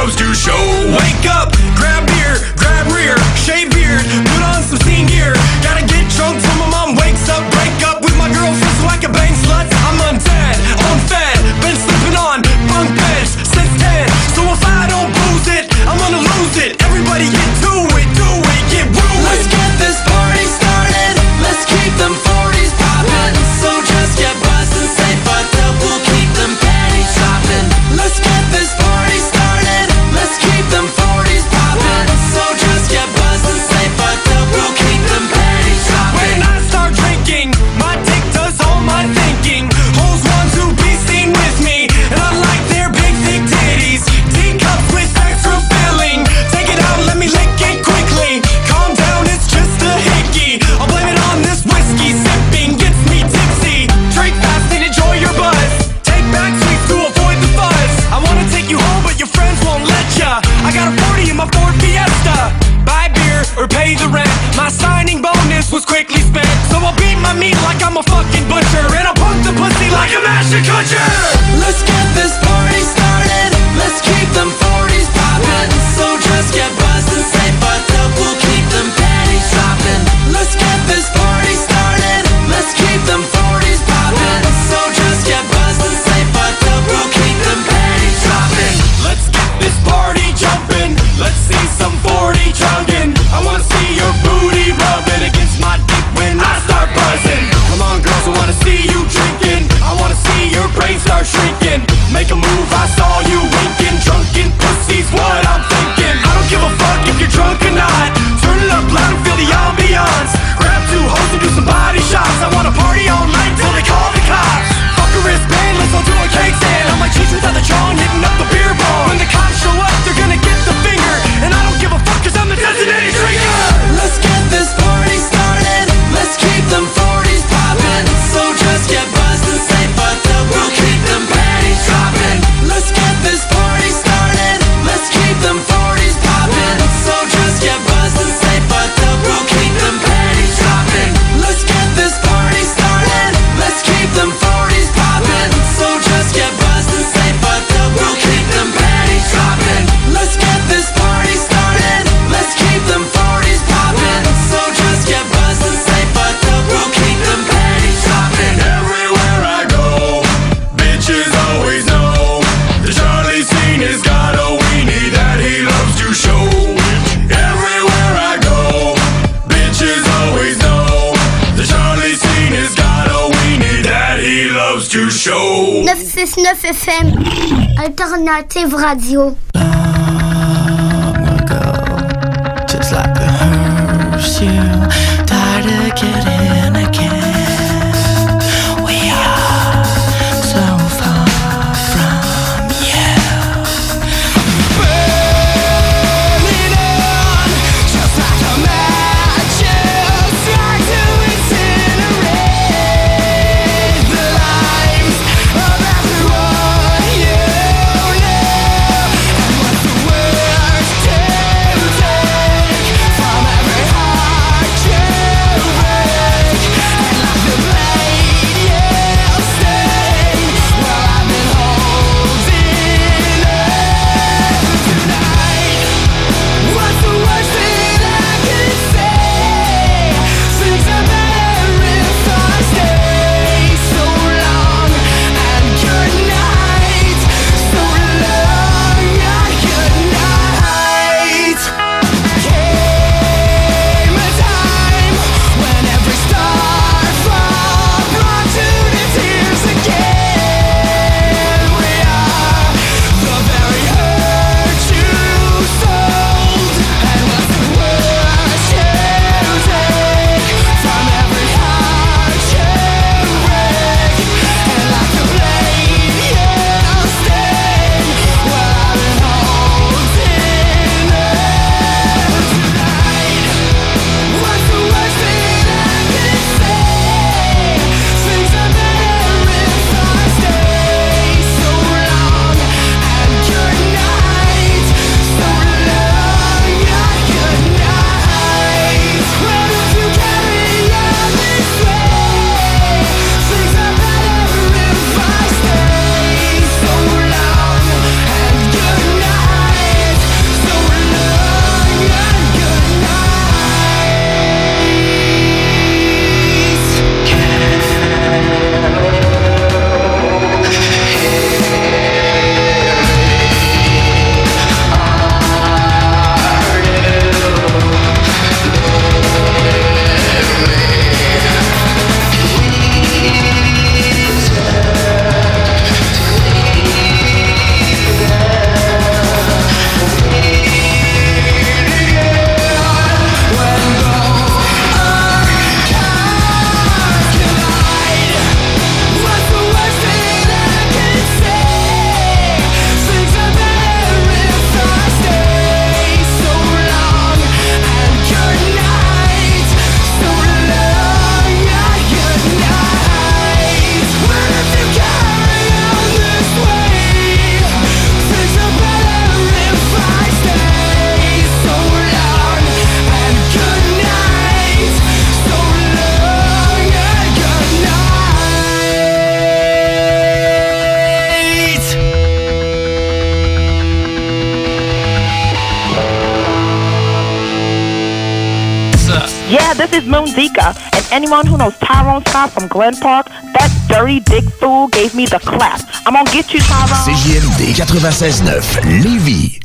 loves to show. Wake up, grab beer, grab rear, shave beard, put on some scene gear. Gotta get drunk till my mom wakes up. Break up with my girlfriend so I can bang sluts. I'm undead, unfed, been sleeping on bunk beds since 10. So if I don't booze it, I'm gonna lose it. Everybody get to it, do it, get ruined. Let's get this party started. Let's keep them 40s poppin'. So just get buzzed and say fucked up. We'll keep them panties droppin'. Let's get this party started. Let's keep them 40s poppin'. So just get buzzed and say fucked up. We'll keep them panties droppin'. When I start drinking, my dick does all my thinking. Hoes want to be seen with me, and I like their big thick titties. Teacups with extra filling. Take it out, let me lick it quickly. Calm down, it's just a hickey. I'll blame it on this whiskey. Sipping gets me tipsy. Drink fast and enjoy your buzz. Take back sweets to avoid the fuzz. I wanna take you home, but your friends won't let ya. I got a 40 in my Ford Fiesta. Buy beer or pay the rent. My signing bonus was quickly spent. So I'll beat my meat like I'm a fucking butcher, and I'll punk the pussy like a master kutcher. Let's get this party started. Let's keep them 40s poppin'. So just get buzzed and say fucked up. We'll keep them panties droppin'. Let's get this party started. Let's keep them 40s poppin'. So just get buzzed and say fucked up. We'll keep them panties droppin'. Let's get this party jumpin'. Let's see some 40 drunken. I wanna see your booty rubbing against my dick when I start buzzing. Come on girls, I wanna see you drinking. I wanna see your brain start shrinking. Make a move, I saw you winking. Drunken pussy's what I'm thinking. I don't give a fuck if you're drunk or not. Turn it up loud and feel the ambiance. Grab two hoes and do some body shots. I wanna party all night till they call the cops. Fuck a wristband, let's all do a cake stand. On my cheeks without the chong, hitting up the beer bong. When the cops show up, they're gonna get the finger. And I don't give a fuck cause I'm the designated drinker. Let's get this party started. Let's keep them 40s poppin'. So just get buzzed and say fucked up. We'll keep them panties droppin'. Let's get this party started. Let's keep them 40s poppin'. So just get buzzed and say fucked up. We'll keep them panties droppin'. Let's get this party started. Let's keep them 40s poppin'. So just get buzzed and say fucked up. We'll keep them panties droppin'. Let's get this party started. Let's keep them 40s poppin'. So just get buzzed and say fucked up. We'll keep them panties droppin'. Everywhere I go, bitches always know the Charlie scene has got a weenie that he loves to show. Everywhere I go, bitches always know the Charlie scene has got a weenie that he loves to show. 969 FM, Alternative Radio. Just like a hearse, you tired of getting again. We are so far from you. Burning on, just like a match, try to incinerate the lives of everyone you know. And what's the worst to take from every heart you break? Yeah, this is Moon Zika. And anyone who knows Tyrone Scott from Glen Park, that dirty dick fool gave me the clap. I'm gonna get you, Tyrone. CJMD 96.9 Lévis.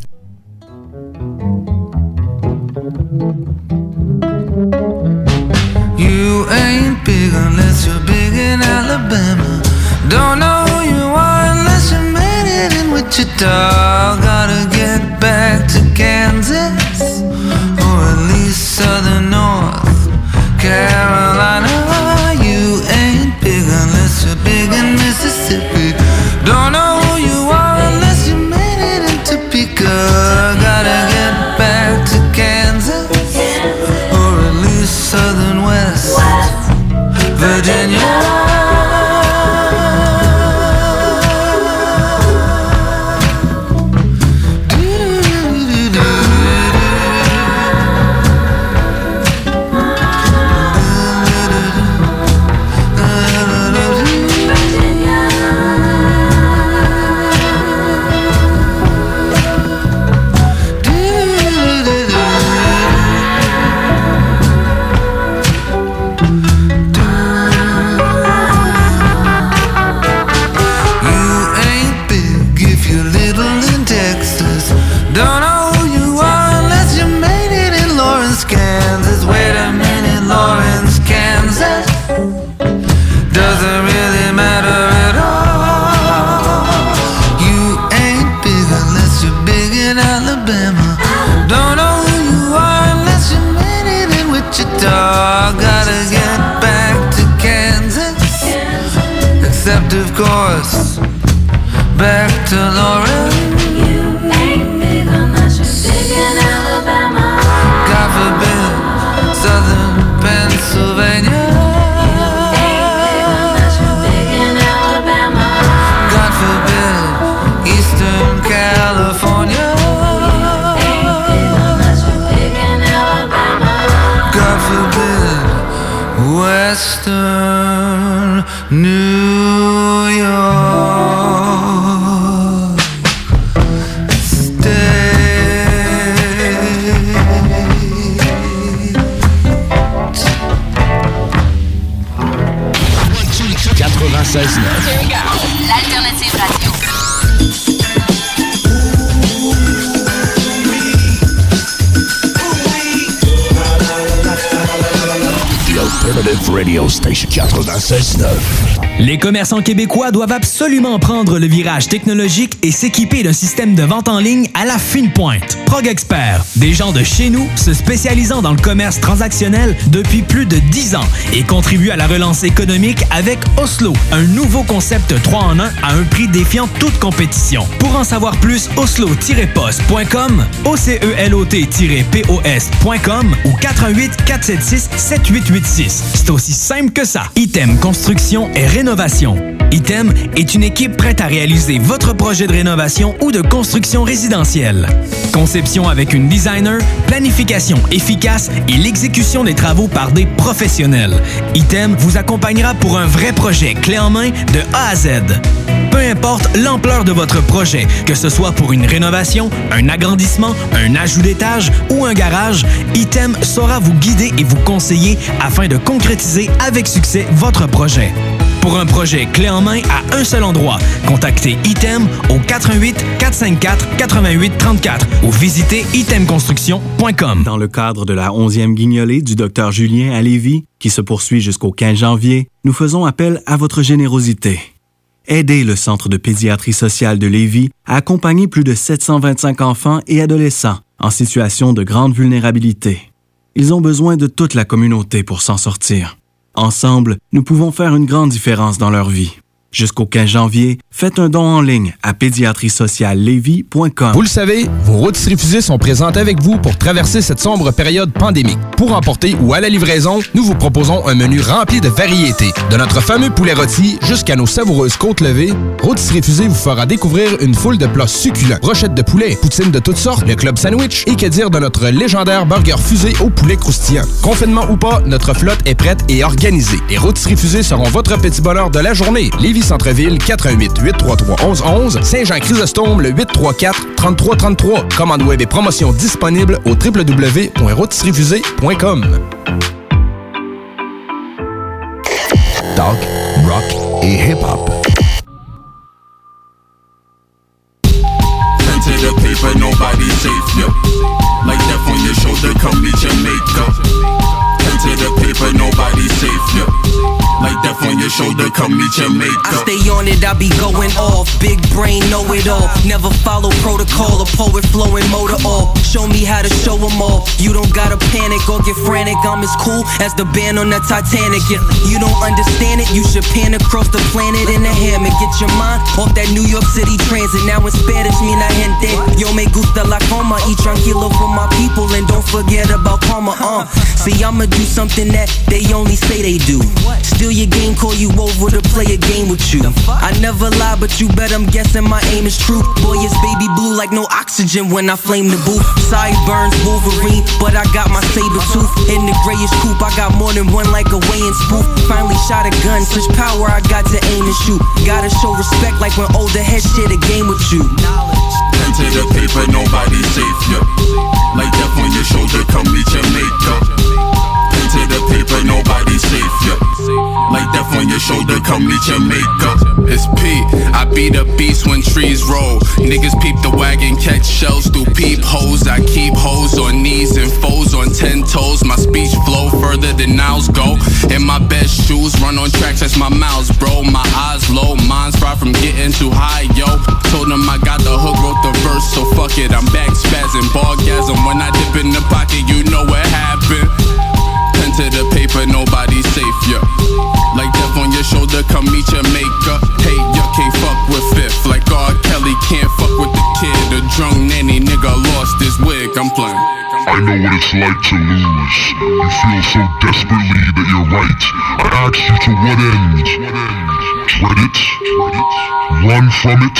You ain't big unless you're big in Alabama. Don't know who you are unless you made it in Wichita. Gotta get back to Kansas, or at least southern North Carolina. You ain't big unless you're big in Mississippi. Don't know who you are unless you made it in Topeka. Gotta get back to Kansas, or at least southern West Virginia. Don't know who you are unless you made it in Lawrence, Kansas. Wait a minute, Lawrence, Kansas doesn't really matter at all. You ain't big unless you're big in Alabama. Don't know who you are unless you made it in Wichita. Gotta get back to Kansas, except of course back to Lawrence. God forbid, southern Pennsylvania. God forbid, eastern California. God forbid, western New York. 96.9. L'alternative radio. The Alternative Radio Station 96.9. Les commerçants québécois doivent absolument prendre le virage technologique et s'équiper d'un système de vente en ligne à la fine pointe. Prog Expert, des gens de chez nous se spécialisant dans le commerce transactionnel depuis plus de 10 ans et contribuent à la relance économique avec Oslo, un nouveau concept 3-en-1 à un prix défiant toute compétition. Pour en savoir plus, oslo-post.com, ocelot-pos.com ou 418-476-7886. C'est aussi simple que ça. Item Construction et Rénovation. Item est une équipe prête à réaliser votre projet de rénovation ou de construction résidentielle. Conception avec une designer, planification efficace et l'exécution des travaux par des professionnels. Item vous accompagnera pour un vrai projet clé en main de A à Z. Peu importe l'ampleur de votre projet, que ce soit pour une rénovation, un agrandissement, un ajout d'étage ou un garage, Item saura vous guider et vous conseiller afin de concrétiser avec succès votre projet. Pour un projet clé en main à un seul endroit, contactez Item au 418-454-8834 ou visitez itemconstruction.com. Dans le cadre de la 11e guignolée du Dr Julien à Lévis, qui se poursuit jusqu'au 15 janvier, nous faisons appel à votre générosité. Aidez le Centre de pédiatrie sociale de Lévis à accompagner plus de 725 enfants et adolescents en situation de grande vulnérabilité. Ils ont besoin de toute la communauté pour s'en sortir. Ensemble, nous pouvons faire une grande différence dans leur vie. Jusqu'au 15 janvier, faites un don en ligne à pédiatriesociallevy.com. Vous le savez, vos rôtisseries fusées sont présentes avec vous pour traverser cette sombre période pandémique. Pour emporter ou à la livraison, nous vous proposons un menu rempli de variétés. De notre fameux poulet rôti jusqu'à nos savoureuses côtes levées, Rôtisseries fusées vous fera découvrir une foule de plats succulents. Brochettes de poulet, poutines de toutes sortes, le club sandwich et que dire de notre légendaire burger fusé au poulet croustillant. Confinement ou pas, notre flotte est prête et organisée. Les Rôtisseries fusées seront votre petit bonheur de la journée. Lévis Lévis Centre-Ville, 418-833-1111. Saint-Jean-Chrysostome, le 834-3333. Commande web et promotion disponible au www.rotisseriefusée.com. Talk, rock et hip-hop. Pen to the paper, nobody safe, yo. Like death on your shoulder, come meet your makeup. Pen to the paper, nobody safe, yo. Like death on your shoulder, come meet your makeup. I stay on it, I be going off. Big brain, know it all. Never follow protocol, a poet flowing motor off. Show me how to show them all. You don't gotta panic or get frantic. I'm as cool as the band on the Titanic. If you don't understand it, you should pan across the planet in a hammock. Get your mind off that New York City transit. Now in Spanish, mi la gente. Yo me gusta la coma. Eat tranquilo for my people and don't forget about karma. See, I'ma do something that they only say they do. Still your game, call you over to play a game with you. I never lie, but you bet I'm guessing my aim is true. Boy, it's baby blue like no oxygen when I flame the booth. Sideburns, Wolverine, but I got my saber tooth. In the grayish coupe, I got more than one like a weighing spoof. Finally shot a gun, such power I got to aim and shoot. Gotta show respect like when older heads share the game with you. Pen to the paper, nobody safe, yo. Like death on your shoulder, come meet your makeup. Pen to the paper, nobody safe, yo. Like death on your shoulder, come meet your makeup. It's P, I be the beast when trees roll. Niggas peep the wagon, catch shells through peepholes. I keep hoes on knees and foes on 10 toes. My speech flow further than Niles go. In my best shoes, run on tracks, that's my mouths, bro. My eyes low, mine's far from getting too high, yo. Told them I got the hook, wrote the verse, so fuck it, I'm back spazzing. Bargasm, when I dip in the pocket, you know what happened. Pen to the paper, nobody safe, yo. Like death on your shoulder, come meet your makeup. Hey, you can't fuck with Fifth. Like R. Kelly can't fuck with the kid. The drunk nanny nigga lost his wig, I'm playing. I know what it's like to lose. You feel so desperately that you're right. I ask you to what end? Dread it? Run from it?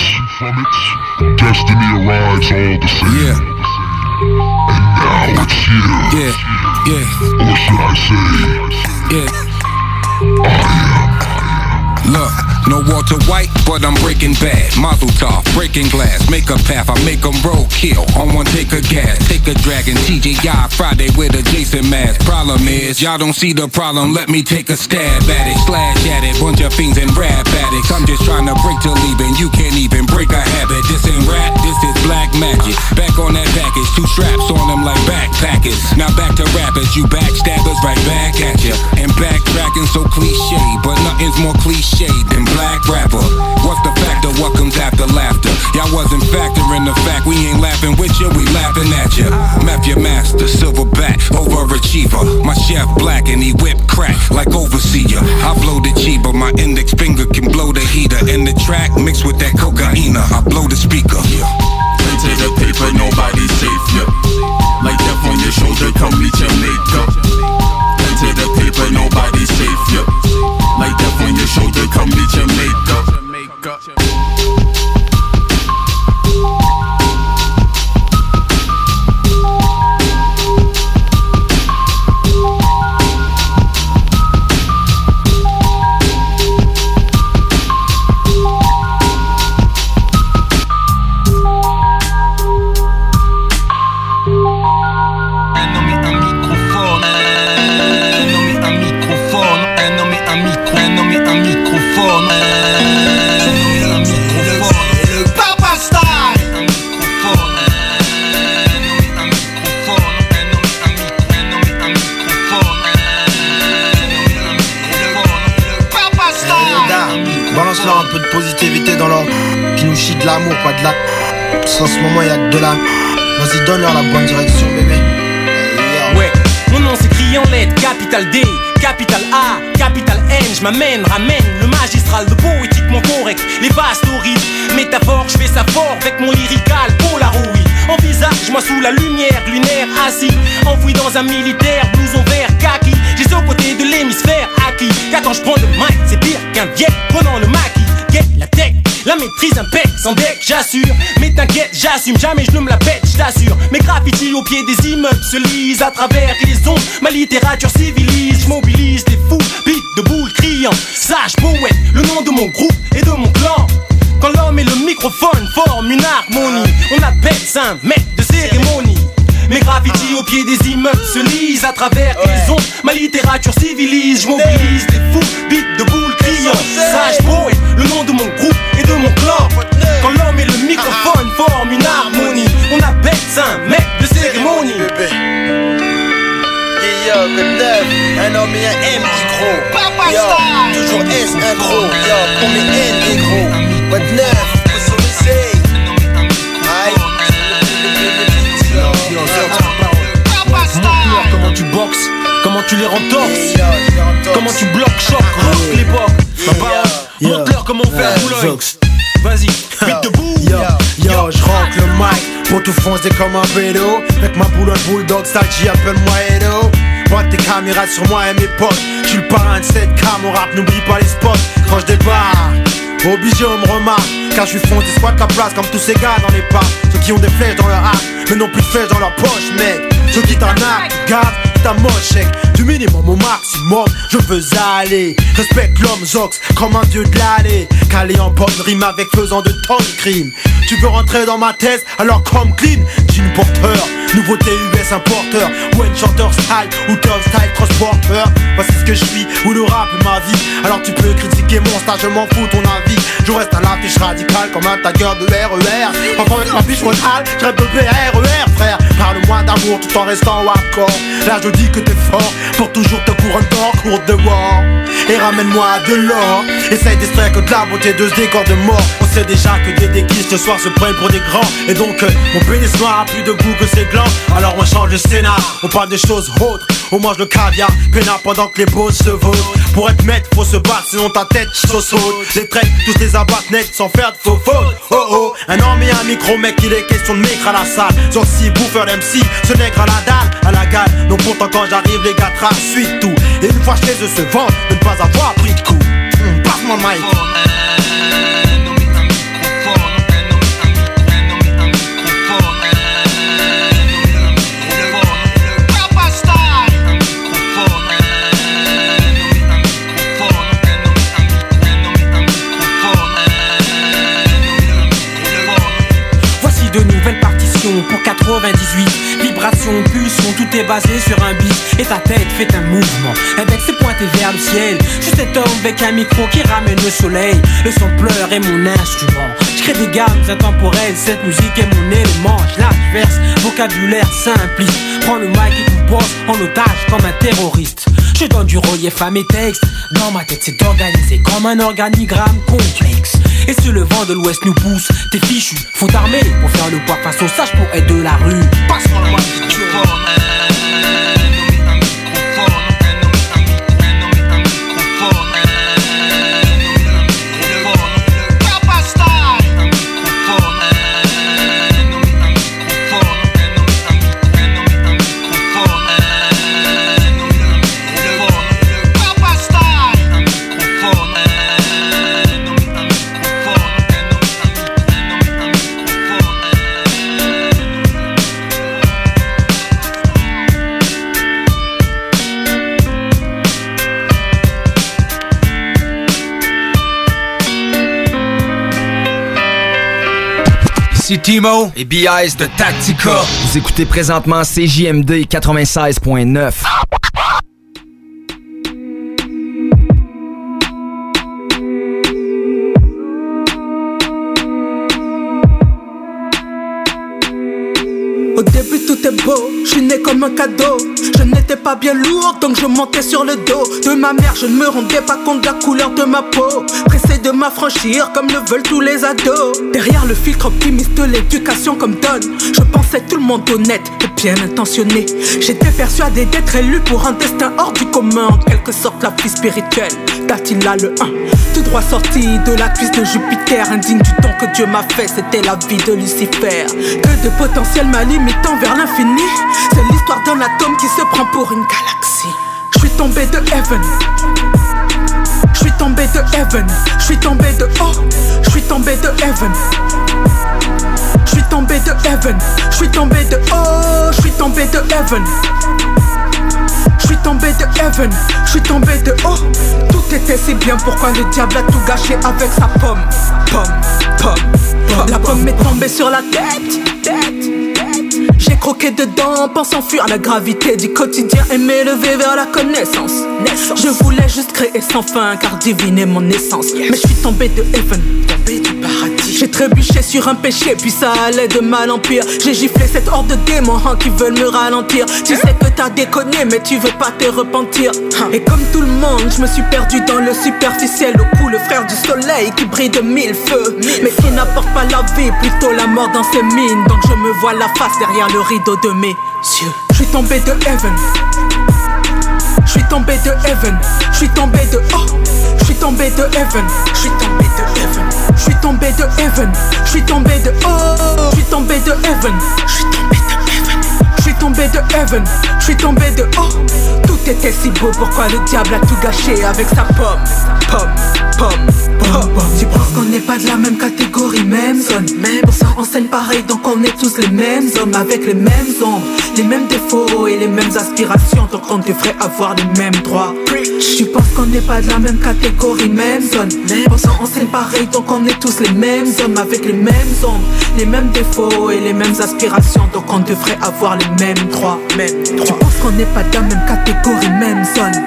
Destiny arrives all the same. And now it's here. Or should I say, I am. Look, no Walter White, but I'm Breaking Bad. Mazel tov, breaking glass, make a path, I make them roll, kill. On one, take a gas, take a dragon, TGI Friday with a Jason mask. Problem is, y'all don't see the problem, let me take a stab at it. Slash at it, bunch of fiends and rap addicts. I'm just trying to break till leaving, you can't even break a habit. This ain't rap, this is black magic. Back on that package, 2 straps on them like backpackers. Now back to rappers, you backstabbers, right back at ya. And backtracking so cliche, but nothing's more cliche than black rapper. What's the factor? What comes after laughter? Y'all wasn't factoring the fact we ain't laughing with you, we laughing at you. Map your master, silverback, overachiever. My chef black and he whip crack like overseer. I blow the cheaper, my index finger can blow the heater. And the track mixed with that cocaine, I blow the speaker. Pen to the paper, nobody safe, yo. Like death on your shoulder, come meet your makeup. Pen to the paper, nobody safe, yo. Like death on your shoulder, come meet your makeup. Balance-leur un peu de positivité dans leur... Qui nous chie de l'amour, pas de la... Parce qu'en ce moment, y'a que de la... Vas-y, donne-leur la bonne direction, bébé. Ouais, mon nom s'écrit en lettres, capital D, capital A, capital N. Je m'amène, ramène le magistral, le poétiquement correct. Les vastes rythme, métaphore, je fais ça fort avec mon lyrical Polaroid. Envisage-moi sous la lumière lunaire, assis, enfoui dans un militaire, blouson vert, kaki. J'ai ce côté de l'hémisphère acquis. Car quand je prends le mic, c'est pire qu'un vieil prenant le maquis. Get la tech, la maîtrise impec, sans deck, j'assure. Mais t'inquiète, j'assume, jamais je ne me la pète, je t'assure. Mes graffitis au pied des immeubles se lisent à travers les ondes. Ma littérature civilise, je mobilise des fous, beat de boule criant. Sage poète, le nom de mon groupe et de mon clan. Quand l'homme et le microphone forment une harmonie, on appelle ça un maître de cérémonie. Mes graffitis au pied des immeubles se lisent à travers les ondes. Ma littérature civilise, je mobilise des fous, beats de boules criant. Sage poète, le nom de mon groupe et de mon clan. Quand l'homme et le microphone forment une harmonie, on appelle ça un maître de cérémonie. Yo, good neuf, un homme et un M qui gros. Yo, toujours S, un gros. Yo, pour mes N, les gros. What neuf, qu'est-ce qu'on essaye? Comment tu boxes, comment tu les rentorses, comment tu bloques, choc, rock l'époque. Montre-leur comment on fait un boulot. Vas-y, vite debout. Yo, je rentre le mic pour tout foncer comme un vélo. Avec ma boule bulldog, style, appelle-moi Edo. Pointe tes caméras sur moi et mes potes. J'suis le parrain de cette cam, au rap, n'oublie pas les spots. Quand je débarque, obligé on me remarque. Car je suis foncé, squatte la place comme tous ces gars dans les parcs. Ceux qui ont des flèches dans leur arc, mais non plus de flèches dans leur poche, mec. Ceux qui t'arnaquent, gardent ta moche, chèque. Du minimum au maximum, je veux aller. Respecte l'homme Zox comme un dieu de l'année. Calé en bonne rime avec faisant de tant de crimes. Tu veux rentrer dans ma thèse, alors comme clean. Jean porteur, nouveauté US importeur. One chanteur style, ou top style transporteur. Voici ce que je suis, ou le rap est ma vie. Alors tu peux critiquer mon stage, je m'en fous ton avis. Je reste à l'affiche radicale comme un tagger de RER. Enfin avec ma fiche frontale, je rêve de PRER frère. Parle-moi d'amour tout en restant hardcore. Là je dis que t'es fort, pour toujours te couronne d'or, courte de war. Et ramène-moi de l'or. Essaye d'extraire que de la beauté de ce décor de mort. On sait déjà que des déguises ce soir se prennent pour des grands. Et donc mon pénis noir a plus de goût que ses glands. Alors on change le scénar, on parle des choses autres. On mange le caviar, peinard pendant que les beaux se vaudent. Pour être maître, faut se battre, sinon ta tête saute. Les traits, tous les abattent net sans faire de faux fautes. Oh oh, un homme et un micro, mec, il est question de micro à la salle. Zorsi, bouffeur d'MC, ce nègre à la dalle, à la gale. Donc pourtant quand j'arrive, les gars tracent suite tout. Et une fois chez eux se vendent, de ne pas avoir pris de coup. Passe-moi le mic. De nouvelles partitions pour 98. Vibration, pulsion, tout est basé sur un beat. Et ta tête fait un mouvement, index est pointé vers le ciel. Je suis cet homme avec un micro qui ramène le soleil. Le son pleure est mon instrument. Je crée des gammes intemporelles, cette musique est mon élément. Je la verse, vocabulaire simpliste. Prends le mic et compose en otage comme un terroriste. Je donne du relief à mes textes. Dans ma tête c'est organisé comme un organigramme complexe. Et si le vent de l'ouest nous pousse, t'es fichu, faut t'armer pour faire le poids face aux sages pour être de la rue. Passe-moi le mic si tu veux. Ici Timo et B.I.S. de Tactica. Vous écoutez présentement CJMD 96.9. Au début tout est beau, je suis né comme un cadeau. Je n'étais pas bien lourd donc je montais sur le dos de ma mère, je ne me rendais pas compte de la couleur de ma peau. Pressé de m'affranchir comme le veulent tous les ados. Derrière le filtre optimiste de l'éducation comme donne, je pensais tout le monde honnête et bien intentionné. J'étais persuadé d'être élu pour un destin hors du commun. En quelque sorte la vie spirituelle d'Attila le 1. Tout droit sorti de la cuisse de Jupiter. Indigne du don que Dieu m'a fait, c'était la vie de Lucifer. Que de potentiel m'a limitant vers l'infini. C'est l'histoire d'un atome qui se prend pour une galaxie. Je suis tombé de heaven. Je suis tombé de heaven. Je suis tombé de haut. Je suis tombé de heaven. Je suis tombé de heaven. Je suis tombé de haut. Je suis tombé de heaven. Je suis tombé tombé de heaven, je suis tombé de haut. Tout était si bien, pourquoi le diable a tout gâché avec sa pomme? La pomme m'est tombée sur la tête. J'ai croqué dedans, pensant fuir la gravité du quotidien et m'élever vers la connaissance. Je voulais juste créer sans fin, car divine est mon essence. Mais je suis tombé de heaven, tombé du paradis. J'ai trébuché sur un péché, puis ça allait de mal en pire. J'ai giflé cette horde de démons qui veulent me ralentir. Tu sais que t'as déconné, mais tu veux pas te repentir. Et comme tout le monde, je me suis perdu dans le superficiel. Au cou, le frère du soleil qui brille de mille feux, mais qui n'apporte pas la vie, plutôt la mort dans ses mines. Donc je me vois la face derrière le rideau de mes yeux. Je suis tombé de heaven, je suis tombé de heaven, je suis tombé de oh, je suis tombé de heaven, je suis tombé de heaven, je suis tombé de heaven, je suis tombé de oh, je suis tombé de heaven, je suis tombé de heaven, je suis tombé de heaven, je suis tombé de oh. Tout était si beau, pourquoi le diable a tout gâché avec sa pomme? Tu penses qu'on n'est pas de la même catégorie, même zone, même pour ça on scène pareil, donc on est tous les mêmes hommes avec les mêmes ombres, les mêmes défauts et les mêmes aspirations, donc on devrait avoir les mêmes droits. Tu penses qu'on n'est pas de la même catégorie, même zone, même pour ça on scène pareil, donc on est tous les mêmes hommes avec les mêmes ombres, les mêmes défauts et les mêmes aspirations, donc on devrait avoir les mêmes droits. Tu penses qu'on n'est pas de la même catégorie, même zone,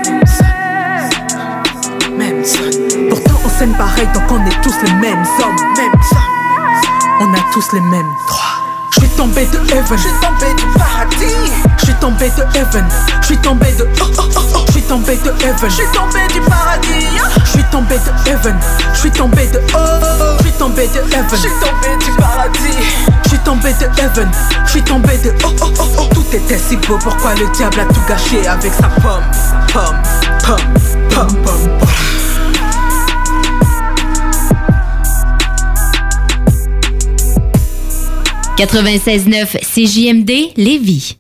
même zone. Pourtant on scène pareil, donc on est tous les mêmes hommes, même zone. On a tous les mêmes droits. Je suis tombé de heaven, je suis tombé du paradis. Je suis tombé de heaven, je suis tombé de oh oh oh oh. Je suis tombé de heaven, je suis tombé du paradis. Je suis tombé de heaven, je suis tombé de oh oh oh. Je suis tombé de heaven, je suis tombé du paradis. Je suis tombé de heaven, je suis tombé de oh oh oh oh. Tout était si beau, pourquoi le diable a tout gâché avec sa pomme? 96.9 CJMD Lévis.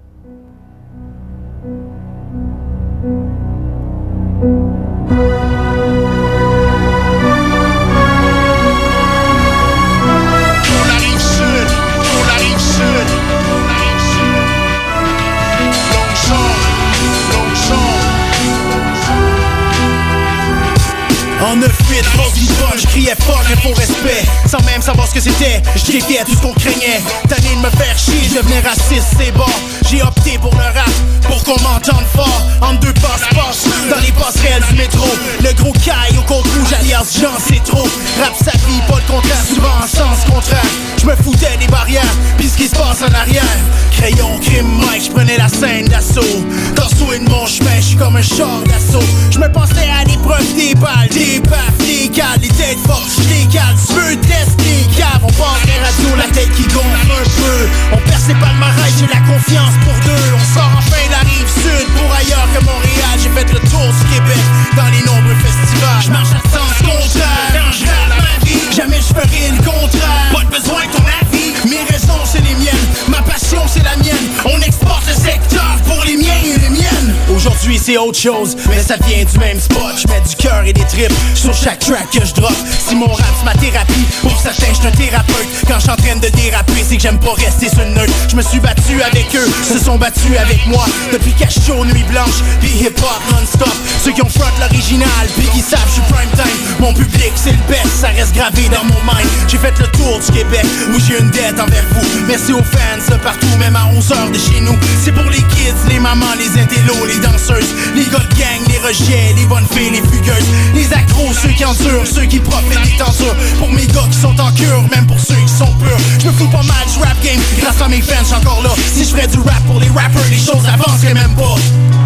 En 9-8, force du punch, je criais fuck, un faux respect. Sans même savoir ce que c'était, je défiais tout ce qu'on craignait. Tanné de me faire chier, je devenais raciste, c'est bon. J'ai opté pour le rap, pour qu'on m'entende fort. En deux passe-passe, dans les passerelles du métro. Le gros caille au compte rouge, alias Jean, c'est trop. Rap sa vie, pas le contraire, souvent en sens contraire. Je me foutais des barrières, pis ce qui se passe en arrière. Crayon, crime, Mike, je prenais la scène d'assaut. Torso de mon chemin, je suis comme un char d'assaut. Je me pensais à l'épreuve des balles, des baffes, des cales, les têtes fortes, les cales. Tu veux tester, cave, on passe les radios, la tête qui gonfle un peu. On perce les palmarès, j'ai la confiance pour deux. On sort enfin de la rive sud pour ailleurs que Montréal. J'ai fait le tour du Québec dans les nombreux festivals. Je marche à sens contraire, quand je rêve ma vie, jamais je ferai le contraire. Pas de besoin de ton avis, mes raisons c'est les miennes, ma passion c'est la mienne. On exporte le secteur pour les miens et les miennes. Aujourd'hui c'est autre chose, mais ça vient du même spot. Je mets du cœur et des tripes sur chaque track que je drop. Si mon rap c'est ma thérapie, pour certains je suis un thérapeute. Quand je suis en train de déraper, c'est que j'aime pas rester sur le neutre. Je me suis battu avec eux, se sont battus avec moi. Depuis Cache-Chaud, Nuit Blanche, puis hip-hop non-stop. Ceux qui ont front l'original, puis qui savent je suis prime time. Mon public c'est le best, ça reste gravé dans mon mind. J'ai fait le tour du Québec, où j'ai une dette envers vous. Merci aux fans de partout, même à 11h de chez nous. C'est pour les kids, les mamans, les intellos, les danseuses, les gars de gang, les rejets, les bonnes filles, les fugueuses, les accros, ceux qui endurent, ceux qui profitent des tentures. Pour mes gars qui sont en cure, même pour ceux qui sont purs. Je me fous pas mal du rap game, grâce à mes fans, j'suis encore là. Si je ferais du rap pour les rappers, les choses avanceraient même pas.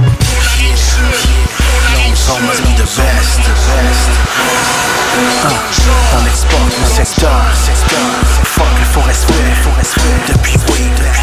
Long must be the best. On exporte le secteur. Fuck le faux respect. Depuis oui.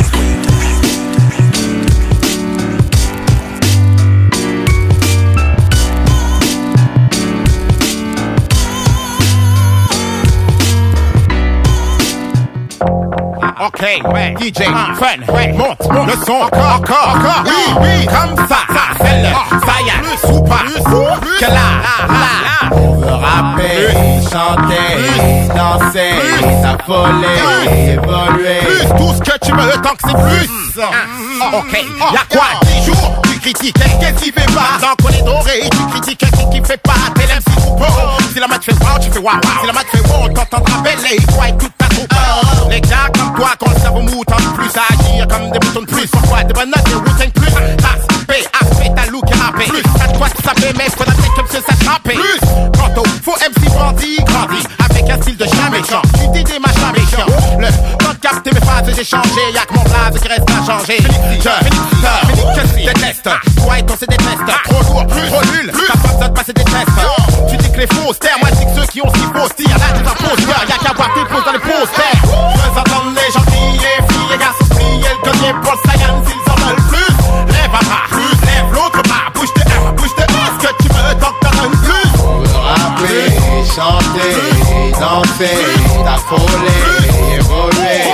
Ok, ouais, DJ, fun, ouais, monte, le son, encore, oui, comme ça, celle, ça y est, ou pas? Que là. On veut rapper, chanter, danser, s'affoler, évoluer. Plus, tout ce que tu veux tant que c'est plus. Ok, y'a quoi? 10 jours, tu critiques quelqu'un qui fait pas. Tant qu'on est doré, tu critiques quelqu'un qui fait pas. T'es l'MC ou pas. Si la match fait wow, tu fais wow. Si la match fait wow, t'entendras bêler. Toi et toute ta troupe. Les gars comme toi, quand le cerveau mou, tente plus à agir comme des boutons de plus. Pourquoi des bonnes notes, des routines plus? Aspect, ta look et rappé. Plus, à toi tu savais, mais faudra peut-être comme ça s'attraper. Plus, quant au faux MC grandit. Avec un style de chien méchant. Tu dis des machins méchants. Le temps de capter mes phases, j'ai changé. Y'a que mon blaze qui reste à changer. Je déteste. Toi et ton c'est des tests. Trop lourd, trop nul. T'as pas besoin de passer des tests. Tu dis que les fausses terres, moi je dis que ceux qui ont ce qu'il faut. Y'en a des imposteurs, y'a qu'à voir tes poses dans les posters. Je veux entendre les gens crier, filles et garçons crier. Le collier pour le Saiyan s'ils en veulent plus. Lève un bras, lève l'autre bras. Bouge de un, bouge de un. Ce que tu veux tant que t'en donnes plus. On veut rapper, chanter, danser, s'affoler, évoluer.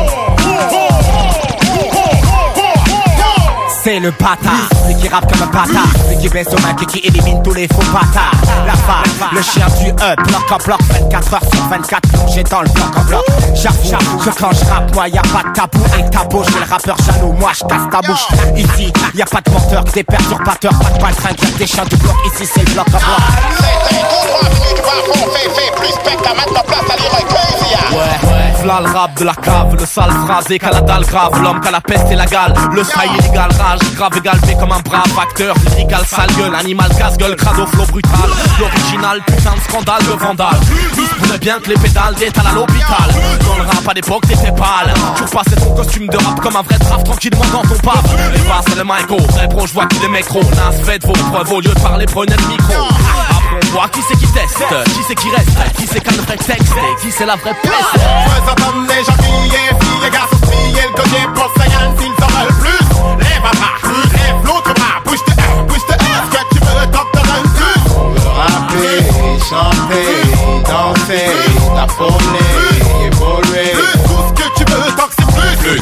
C'est le bâtard, lui qui rappe comme un bâtard, lui qui baisse au mec et qui élimine tous les faux bâtards. La femme, le chien du bloc en bloc, 24 heures sur 24, plongé dans le bloc en bloc. J'avoue que quand je rappe, moi y'a pas de tabou. Avec ta bouche, j'ai le rappeur jaloux, moi je casse ta bouche. Ici, y'a pas de menteur, que des perturbateurs, pas de baltringue, y'a des chiens du bloc. Ici c'est le bloc en bloc. Ouais, v'là le rap de la cave, le sale phrasé qu'à la dalle grave, l'homme qu'à la peste et la gale, le style illégal, rage, grave égalé comme un brave acteur, lyrical, sale gueule, animal, casse-gueule, crado, flow brutal, l'original, putain de scandale, de vandale, il se pourrait bien que les pédales d'étal à l'hôpital, dans le rap à l'époque t'étais pâle, tu repassais ton costume de rap comme un vrai traf, tranquillement dans ton paf, les basses c'est le micro, vrai pro, je vois que les mécros, nas, faites vos preuves, au lieu de parler, prenez le micro. On voit qui c'est qui teste, qui c'est qui reste, qui c'est qu'un vrai texte, qui c'est la vraie peste. Je veux entendre les gens crier, filles et garçons crier. Le collier pour le Saiyan s'ils en veulent plus. Lève un bras, lève l'autre bras. Bouge de un, ce que tu veux tant que t'en donnes plus. On veut rapper, chanter, danser, s'affoler, évoluer. Plus, tout ce que tu veux tant que c'est plus.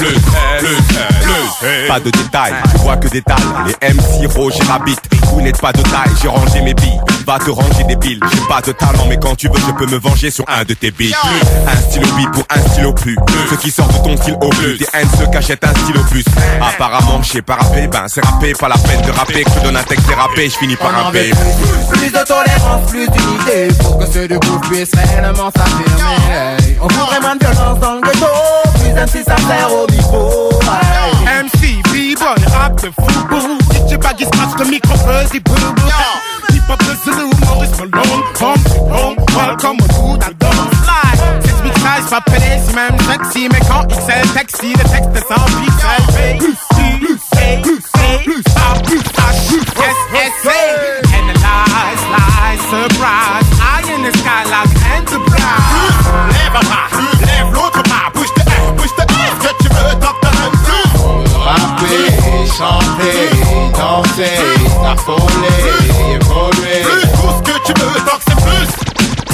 Pas de détails, je vois que des dalles. Les MC Roger Rabbit, vous n'êtes pas de taille. J'ai rangé mes billes, va te ranger des piles. J'ai pas de talent, mais quand tu veux, je peux me venger sur un de tes billes. Un stylo bi pour un stylo plus. Ce qui sort de ton style au plus. Des haines se cachent un stylo plus. Apparemment, je sais pas rapper, ben c'est rapper, pas la peine de rapper. Que je te donne un texte dérapé, je finis par rapper. Plus de tolérance, plus d'unité, pour que ceux de vous puissent réellement s'affirmer. On voudrait moins de violence dans le ghetto, plus MC sincère au micro. MC, B-boy, rap de fou. DJ Baggy scratch le micro, fuzzy boo. Hip hop de Zulu, Maurice Malone. Home, welcome au bout d'un slide. 6 big size, pas pédé, si même sexy. Mais quand XL taxi, le texte est sans pixel. Plus Analyze, lie, surprise. Eye in the sky like Enterprise. Lève un bras, lève l'autre bras. Bouge de un, ce que tu veux, tant que t'en donnes plus. On veut rapper, chanter, danser, s'affoler, évoluer. Plus, tout ce que tu veux, tant que c'est plus.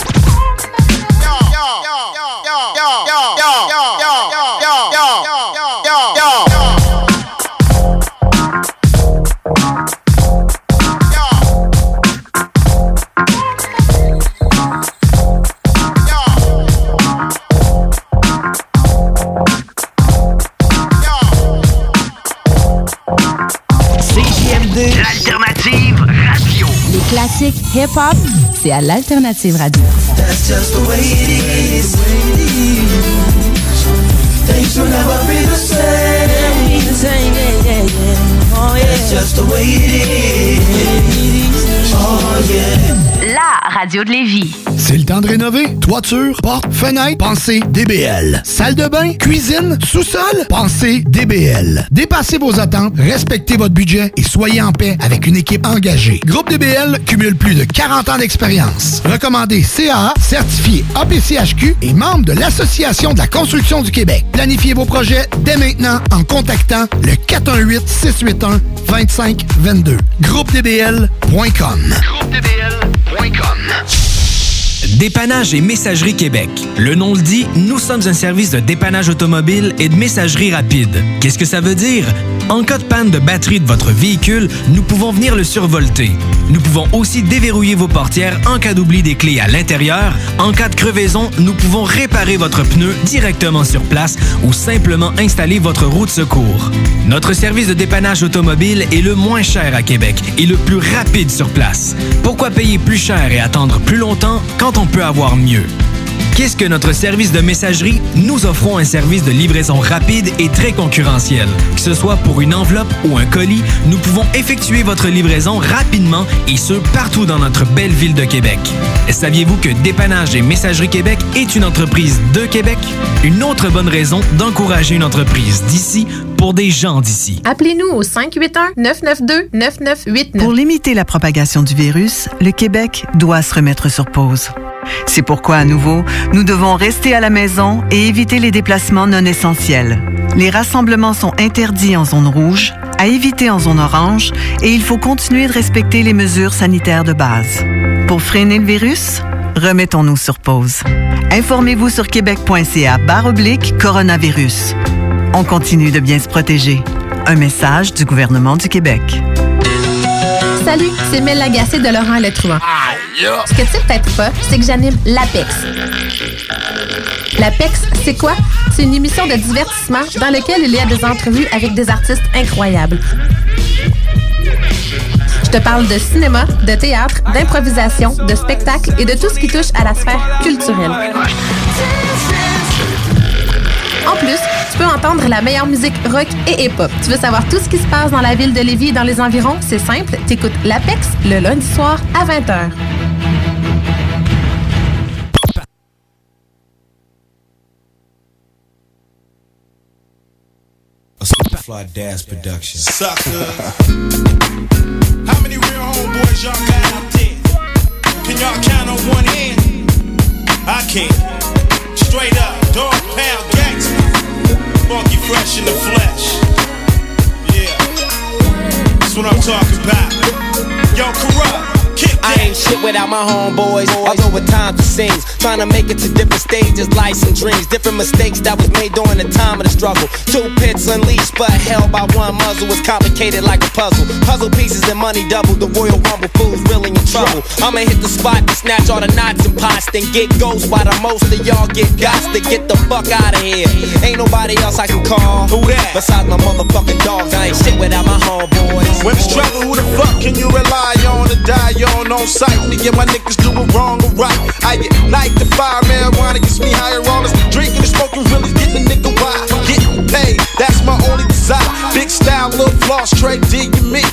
L'Alternative Radio. Les classiques hip-hop, c'est à l'Alternative Radio. That's just the way it is. Things will never be the same. Oh, yeah. That's just the way it is. Oh yeah. La radio de Lévis. C'est le temps de rénover. Toiture, porte, fenêtre, pensez DBL. Salle de bain, cuisine, sous-sol, pensez DBL. Dépassez vos attentes, respectez votre budget et soyez en paix avec une équipe engagée. Groupe DBL cumule plus de 40 ans d'expérience. Recommandé CAA, certifié APCHQ et membre de l'Association de la construction du Québec. Planifiez vos projets dès maintenant en contactant le 418-681-2522. GroupeDBL.com. Dépannage et Messagerie Québec. Le nom le dit, nous sommes un service de dépannage automobile et de messagerie rapide. Qu'est-ce que ça veut dire? En cas de panne de batterie de votre véhicule, nous pouvons venir le survolter. Nous pouvons aussi déverrouiller vos portières en cas d'oubli des clés à l'intérieur. En cas de crevaison, nous pouvons réparer votre pneu directement sur place ou simplement installer votre roue de secours. Notre service de dépannage automobile est le moins cher à Québec et le plus rapide sur place. Pourquoi payer plus cher et attendre plus longtemps quand on peut avoir mieux? Qu'est-ce que notre service de messagerie? Nous offrons un service de livraison rapide et très concurrentiel. Que ce soit pour une enveloppe ou un colis, nous pouvons effectuer votre livraison rapidement et ce, partout dans notre belle ville de Québec. Saviez-vous que Dépannage et Messagerie Québec est une entreprise de Québec? Une autre bonne raison d'encourager une entreprise d'ici pour des gens d'ici. Appelez-nous au 581-992-9989. Pour limiter la propagation du virus, le Québec doit se remettre sur pause. C'est pourquoi, à nouveau, nous devons rester à la maison et éviter les déplacements non essentiels. Les rassemblements sont interdits en zone rouge, à éviter en zone orange, et il faut continuer de respecter les mesures sanitaires de base. Pour freiner le virus, remettons-nous sur pause. Informez-vous sur québec.ca/coronavirus. On continue de bien se protéger. Un message du gouvernement du Québec. Salut, c'est Mel Lagacé de Laurent Le Truand. Ce que tu sais peut-être pas, c'est que j'anime l'Apex. L'Apex, c'est quoi? C'est une émission de divertissement dans laquelle il y a des entrevues avec des artistes incroyables. Je te parle de cinéma, de théâtre, d'improvisation, de spectacle et de tout ce qui touche à la sphère culturelle. En plus, tu peux entendre la meilleure musique rock et hip-hop. Tu veux savoir tout ce qui se passe dans la ville de Lévis et dans les environs? C'est simple, t'écoutes l'Apex le lundi soir à 20h. Fly Daz Production. Sucker. How many real homeboys y'all got out there? Can y'all count on one hand? I can't. Straight up, dog pound gangsta. Funky fresh in the flesh. Yeah. That's what I'm talking about. Yo, Corrupt. I ain't shit without my homeboys. Although at times it seems, trying to make it to different stages, lives and dreams, different mistakes that was made during the time of the struggle. Two pits unleashed, but held by one muzzle. Was complicated like a puzzle. Puzzle pieces and money double. The Royal Rumble fools really in trouble. I'ma hit the spot to snatch all the knots and pots, then get ghost while the most of y'all get gots to get the fuck out of here. Ain't nobody else I can call. Who that? Besides my motherfucking dogs, I ain't shit without my homeboys. When it's trouble, who the fuck can you rely on to die on sight? Me and my niggas do it wrong or right. I get light the fire, marijuana gets me higher. All this drinking and smoking really getting a nigga wild. Getting paid, that's my only desire. Big style, little floss, trade D you me.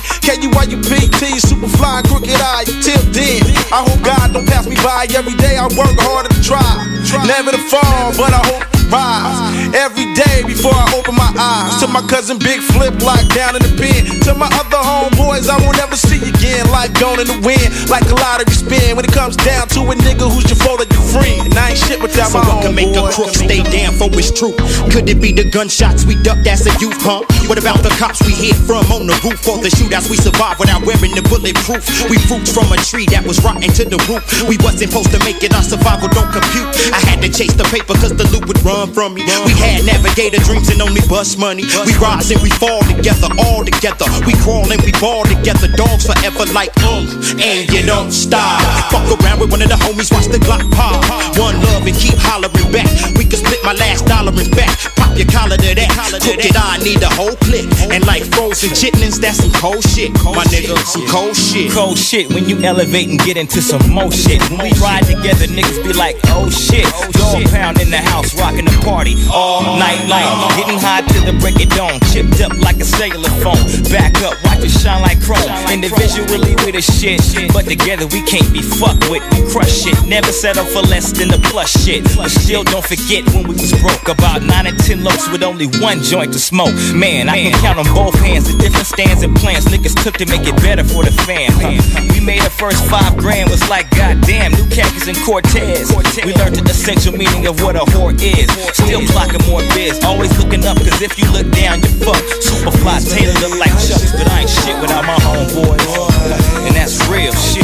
KUYUPT, super fly, crooked eye. Till then, I hope God don't pass me by. Every day I work harder to try. Never to fall, but I hope to rise. Every day before I open my eyes. To my cousin Big Flip, locked down in the pen. To my other homeboys, I won't ever see again. Life gone in the wind, like a lottery spin. When it comes down to a nigga who's your foe or your friend. And I ain't shit without my homeboy. So what can make a crook stay down for his truth? Could it be the gunshots we ducked as a youth, huh? What about the cops we hid from on the roof? Or the shootouts we survived without wearing the bulletproof? We fruits from a tree that was rotten to the root. We wasn't supposed to make it, our survival don't compute. I had to chase the paper cause the loot would run from me. We had navigator dreams and only bust money. We rise and we fall together, all together. We crawl and we ball together, dogs forever like and you don't stop. Fuck around with one of the homies, watch the Glock pop. One love and keep hollering back. We can split my last dollar in back. Pop your collar to that. Cook it, I need a whole clip. And like frozen chitlins, that's some cold shit. My nigga, some cold shit. Cold shit when you elevate and get into some more shit. When we ride together, niggas be like, oh shit. Dog pound in the house, rocking the party all night long. Getting high till the break of dawn. Chipped up like a cellular phone. Back up, watch it shine like chrome. Individually we the shit, but together we can't be fucked with. We crush shit, never settle for less than the plus shit. But still don't forget when we was broke. About 9 and 10 locs with only one joint to smoke. Man, I can count on both hands the different stands and plans niggas took to make it better for the fam. We made the first $5 grand, was like goddamn, new khakis and Cortez. We learned the essential meaning of what a whore is. Still clocking more biz, always looking up, cause if you look down, you fuck. Superfly Taylor look like Chucks, but I ain't shit without my homeboys. And that's real shit.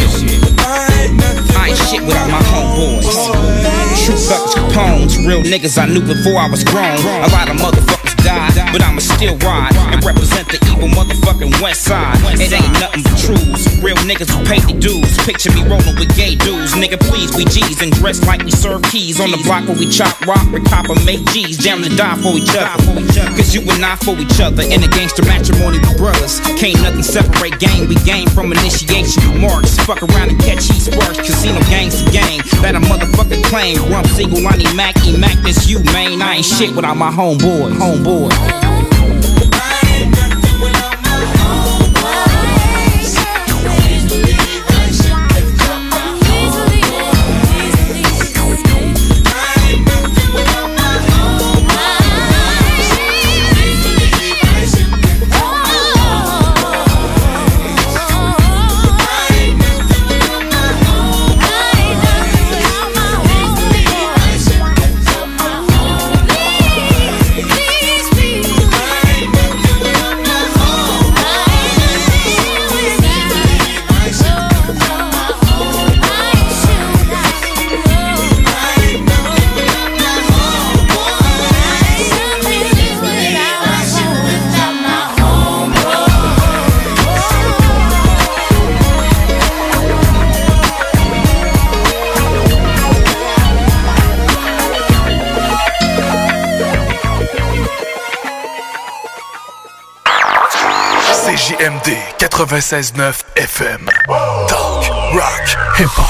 I ain't shit without my homeboys. True Bucks Capones, real niggas I knew before I was grown. A lot of motherfuckers died. but I'ma still ride and represent the evil motherfucking West Side. It ain't nothing but truths. Real niggas who pay the dues. Picture me rolling with gay dudes. Nigga, please, we G's and dress like we serve keys. On the block where we chop rock, we cop and make G's. Down to die for each other. Cause you and I for each other. In a gangster matrimony with brothers. Can't nothing separate gang. We game from initiation to marks. Fuck around and catch heat sparks. Casino gangs to gang. That a motherfucker claim. Rump Siegel, I need Mac, E-Mac, this you, man. I ain't shit without my homeboy. CJMD 96.9 FM. Talk, rock, hip-hop.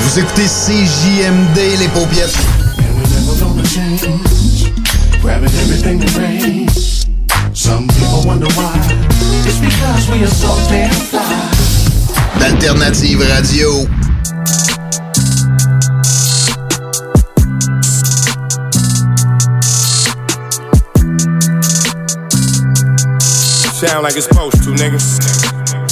Vous écoutez CJMD, les paupiètes. Grabbing everything that rains. Some people wonder why. It's because we are so damn fly. D'Alternative Radio. Sound like it's supposed to, niggas.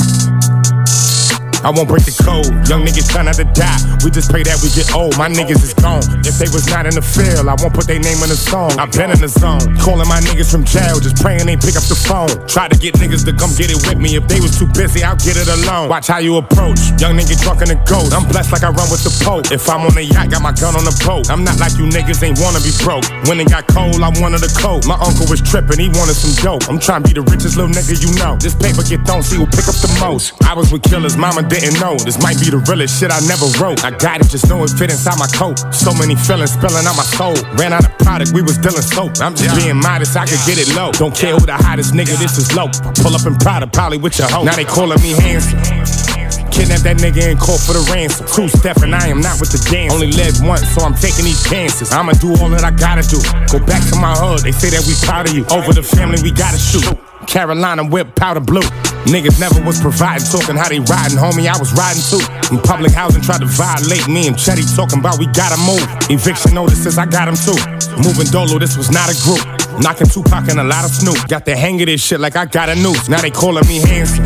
I won't break the code. Young niggas try not to die. We just pray that we get old. My niggas is gone. If they was not in the field, I won't put their name in the song. I've been in the zone. Calling my niggas from jail, just praying they pick up the phone. Try to get niggas to come get it with me. If they was too busy, I'll get it alone. Watch how you approach. Young nigga drunk in the ghost. I'm blessed like I run with the Pope. If I'm on a yacht, got my gun on the boat. I'm not like you niggas ain't wanna be broke. When it got cold, I wanted a coat. My uncle was tripping, he wanted some dope. I'm trying to be the richest little nigga you know. This paper get thrown, see who pick up the most. I was with killers, mama didn't know. This might be the realest shit I never wrote. I got it, just know it fit inside my coat. So many feelings spilling out my soul. Ran out of product, we was dealing soap. I'm just being modest, I could get it low. Don't care who the hottest nigga, this is low. Pull up in Prada, probably with your hoe. Now they calling me handsome. Kidnap that nigga and call for the ransom. True Steph and I am not with the dance. Only live once, so I'm taking these chances. I'ma do all that I gotta do. Go back to my hood, they say that we proud of you. Over the family, we gotta shoot. Carolina whip, powder blue. Niggas never was providing, talking how they riding, homie, I was riding too. In public housing tried to violate me and Chetty talking about we gotta move. Eviction notices, I got them too. Moving Dolo, this was not a group. Knocking Tupac and a lot of Snoop. Got the hang of this shit like I got a noose. Now they calling me handsome.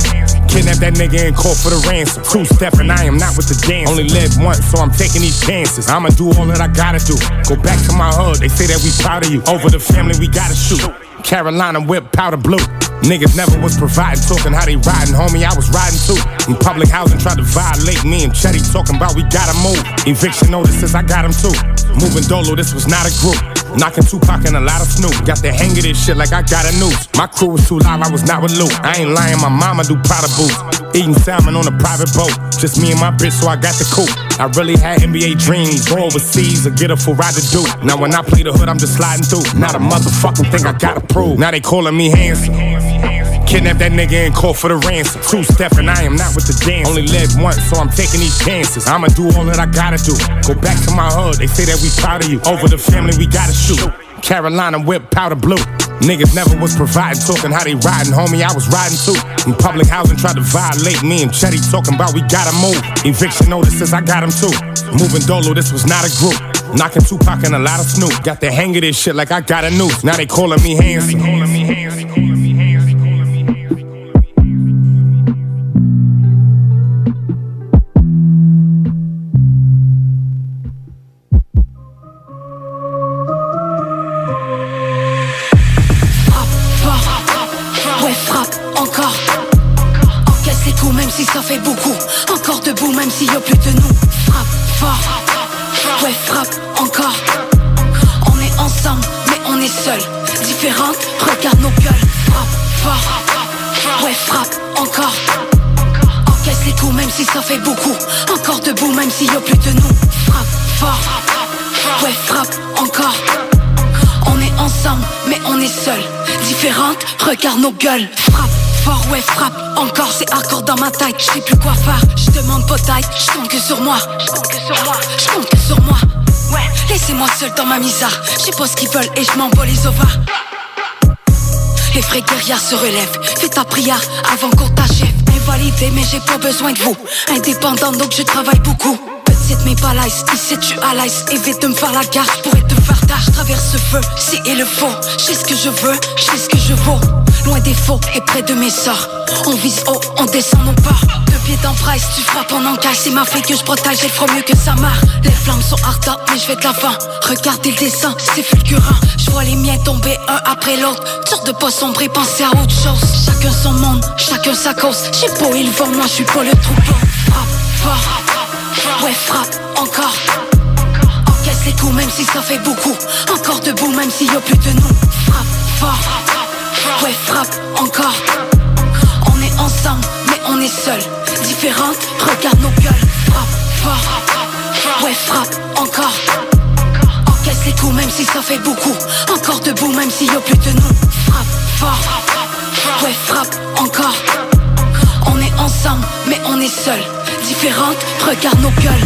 Kidnap that nigga and call for the ransom. True Steph and I am not with the dance. Only live once, so I'm taking these chances. I'ma do all that I gotta do. Go back to my hood, they say that we proud of you. Over the family, we gotta shoot. Carolina whip, powder blue. Niggas never was providing, talking how they riding, homie, I was riding too. In public housing tried to violate me and Chetty talking about we gotta move. Eviction notices, I got them too. Moving Dolo, this was not a group. Knocking Tupac and a lot of Snoop. Got the hang of this shit like I got a noose. My crew was too live, I was not with Luke. I ain't lying, my mama do Prada boots. Eating salmon on a private boat. Just me and my bitch, so I got the coupe. I really had NBA dreams. Go overseas or get a full ride to do. Now when I play the hood, I'm just sliding through. Not a motherfucking thing I gotta prove. Now they calling me handsome. Kidnap that nigga and call for the ransom. True Steph and I am not with the dance. Only live once, so I'm taking these chances. I'ma do all that I gotta do. Go back to my hood, they say that we proud of you. Over the family, we gotta shoot. Carolina whip, powder blue. Niggas never was providing, talking how they riding, homie, I was riding too. In public housing tried to violate me and Chetty talking about we gotta move. Eviction notices, I got them too. Moving Dolo, this was not a group. Knocking Tupac and a lot of Snoop. Got the hang of this shit like I got a noose. Now they calling me handsome. Si ça fait beaucoup, encore debout même s'il y a plus de nous. Frappe fort, ouais frappe encore. On est ensemble mais on est seul. Différentes, regarde nos gueules. Frappe fort, ouais frappe encore. Encaisse les coups même si ça fait beaucoup. Encore debout même s'il y a plus de nous. Frappe fort, ouais frappe encore. On est ensemble mais on est seul. Différentes, regarde nos gueules. Frappe fort, ouais frappe encore, c'est hardcore dans ma tête. Je sais plus quoi faire, je demande pas d'aide. Je compte que sur moi, je compte que sur moi. Ouais, laissez-moi seul dans ma misère. Je sais pas ce qu'ils veulent et je m'en bats les ovaires. Les vrais guerrières se relèvent. Fais ta prière avant qu'on t'achève. Invalidé mais j'ai pas besoin de vous. Indépendant donc je travaille beaucoup. Petite mais pas lice, ici tu à l'aise. Évite de me faire la guerre, je pourrais te faire tard. Je traverse ce feu, si et le faux. Je sais ce que je veux, je sais ce que je vaux. Loin des faux et près de mes sorts. On vise haut, on descend nos peurs. Deux pieds dans presse, tu frappes en encaisse. C'est ma fille que je protège, elle fera mieux que sa mère. Les flammes sont ardentes, mais je vais de l'avant. Regardez le dessin, c'est fulgurant. Je vois les miens tomber un après l'autre. Dur de pas sombrer, penser à autre chose. Chacun son monde, chacun sa cause. Je sais pas où ils vont, moi je suis pas le troupeau. Frappe fort, ouais frappe encore. Encaisse les coups même si ça fait beaucoup. Encore debout même s'il y a plus de nous. Frappe fort, ouais frappe encore. On est ensemble mais on est seul. Différentes, regarde nos gueules. Frappe fort, ouais frappe encore. Encaisse les coups même si ça fait beaucoup. Encore debout même s'il y a plus de nous. Frappe fort, ouais frappe encore. On est ensemble mais on est seul. différentes, regarde nos gueules.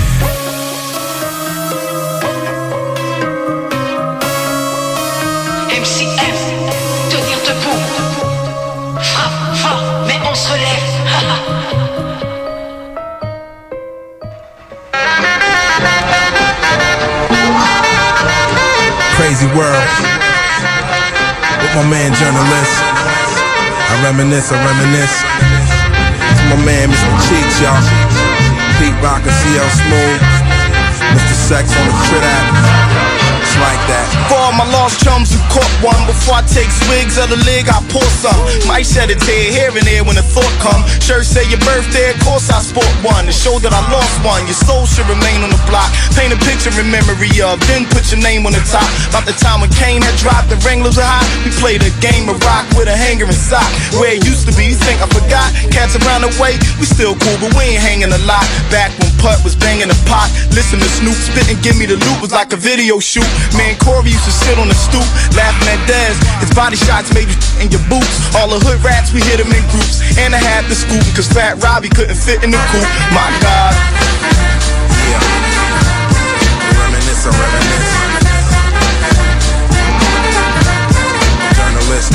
MCM, tenir debout. Frappe fort, mais on se lève. Crazy world. With my man journalist. I reminisce. To my man Mr. Cheeks, y'all. Pete Rock and CL Smooth. Mr. Sex on the crit app. It's like that. For all my lost chums who caught one, before I take swigs of the lig, I pour some. Might shed a tear here and there when a thought come. Sure say your birthday, of course I sport one. To show that I lost one, your soul should remain on the block. Paint a picture in memory of, then put your name on the top. About the time when Kane had dropped, the Wranglers were hot. We played a game of rock with a hanger and sock. Where it used to be, you think I forgot? Cats around the way, we still cool, but we ain't hanging a lot. Back when Putt was banging the pot, listen to Snoop spit and give me the loot, was like a video shoot. Man, Corey used to sit on the stoop, laughing at Dez. His body shots made you in your boots. All the hood rats, we hit them in groups. And I had to scoop, cause Fat Robbie couldn't fit in the coupe. My God. Yeah. Reminisce. Journalist.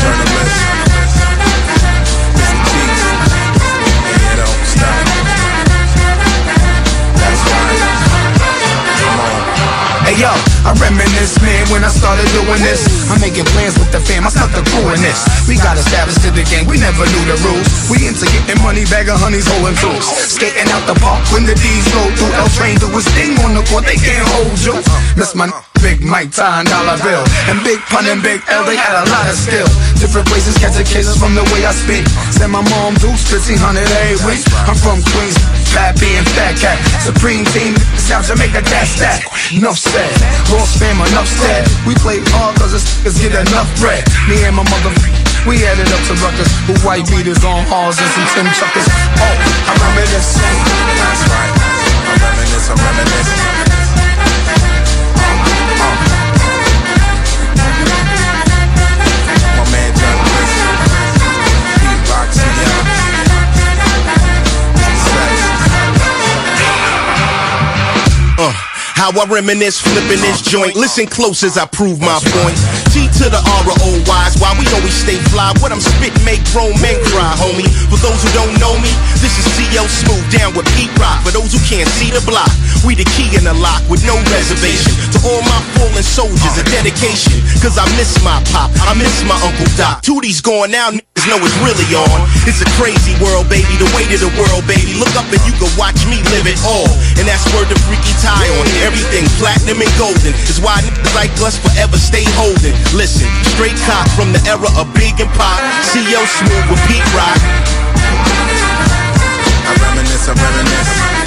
Mr. Cheeks. And you don't stop. That's right. Come on. Hey yo, I reminisce, man, when I started doing this. I'm making plans with the fam, I stuck the crew in this. We got established in the game, we never knew the rules. We into getting money, bag of honeys, holding tools. Skating out the park when the D's go through. L Train do his thing on the court, they can't hold you. That's my Big Mike, $10 bill. And Big Pun and Big L, they had a lot of skill. Different places, catching cases from the way I speak. Send my mom Dukes, 1500 every week. I'm from Queens, Fat B and Fat Cat. Supreme Team, South Jamaica, that's that. Enough said, Ross fam, enough said. We play hard cause the stickers get enough bread. Me and my mother, we added up to ruckus. With white beaters on halls and some Tim Chuckers. Oh, I reminisce. That's right. I reminisce. How I reminisce, flipping this joint. Listen close as I prove my point. T to the R-O-Y's, why we always stay fly. What I'm spitting make grown men cry, homie. For those who don't know me, this is CL Smooth down with Pete Rock. For those who can't see the block, we the key in the lock with no reservation. To all my fallen soldiers, a dedication. Cause I miss my pop, I miss my Uncle Doc. Tootie's gone now, niggas know it's really on. It's a crazy world, baby, the weight of the world, baby. Look up and you can watch me live it all. And that's where the Freaky Tie on. Everything platinum and golden is why niggas like us forever stay holding. Listen, straight cock from the era of Big and Pop. CL Smooth with Pete Rock. I reminisce.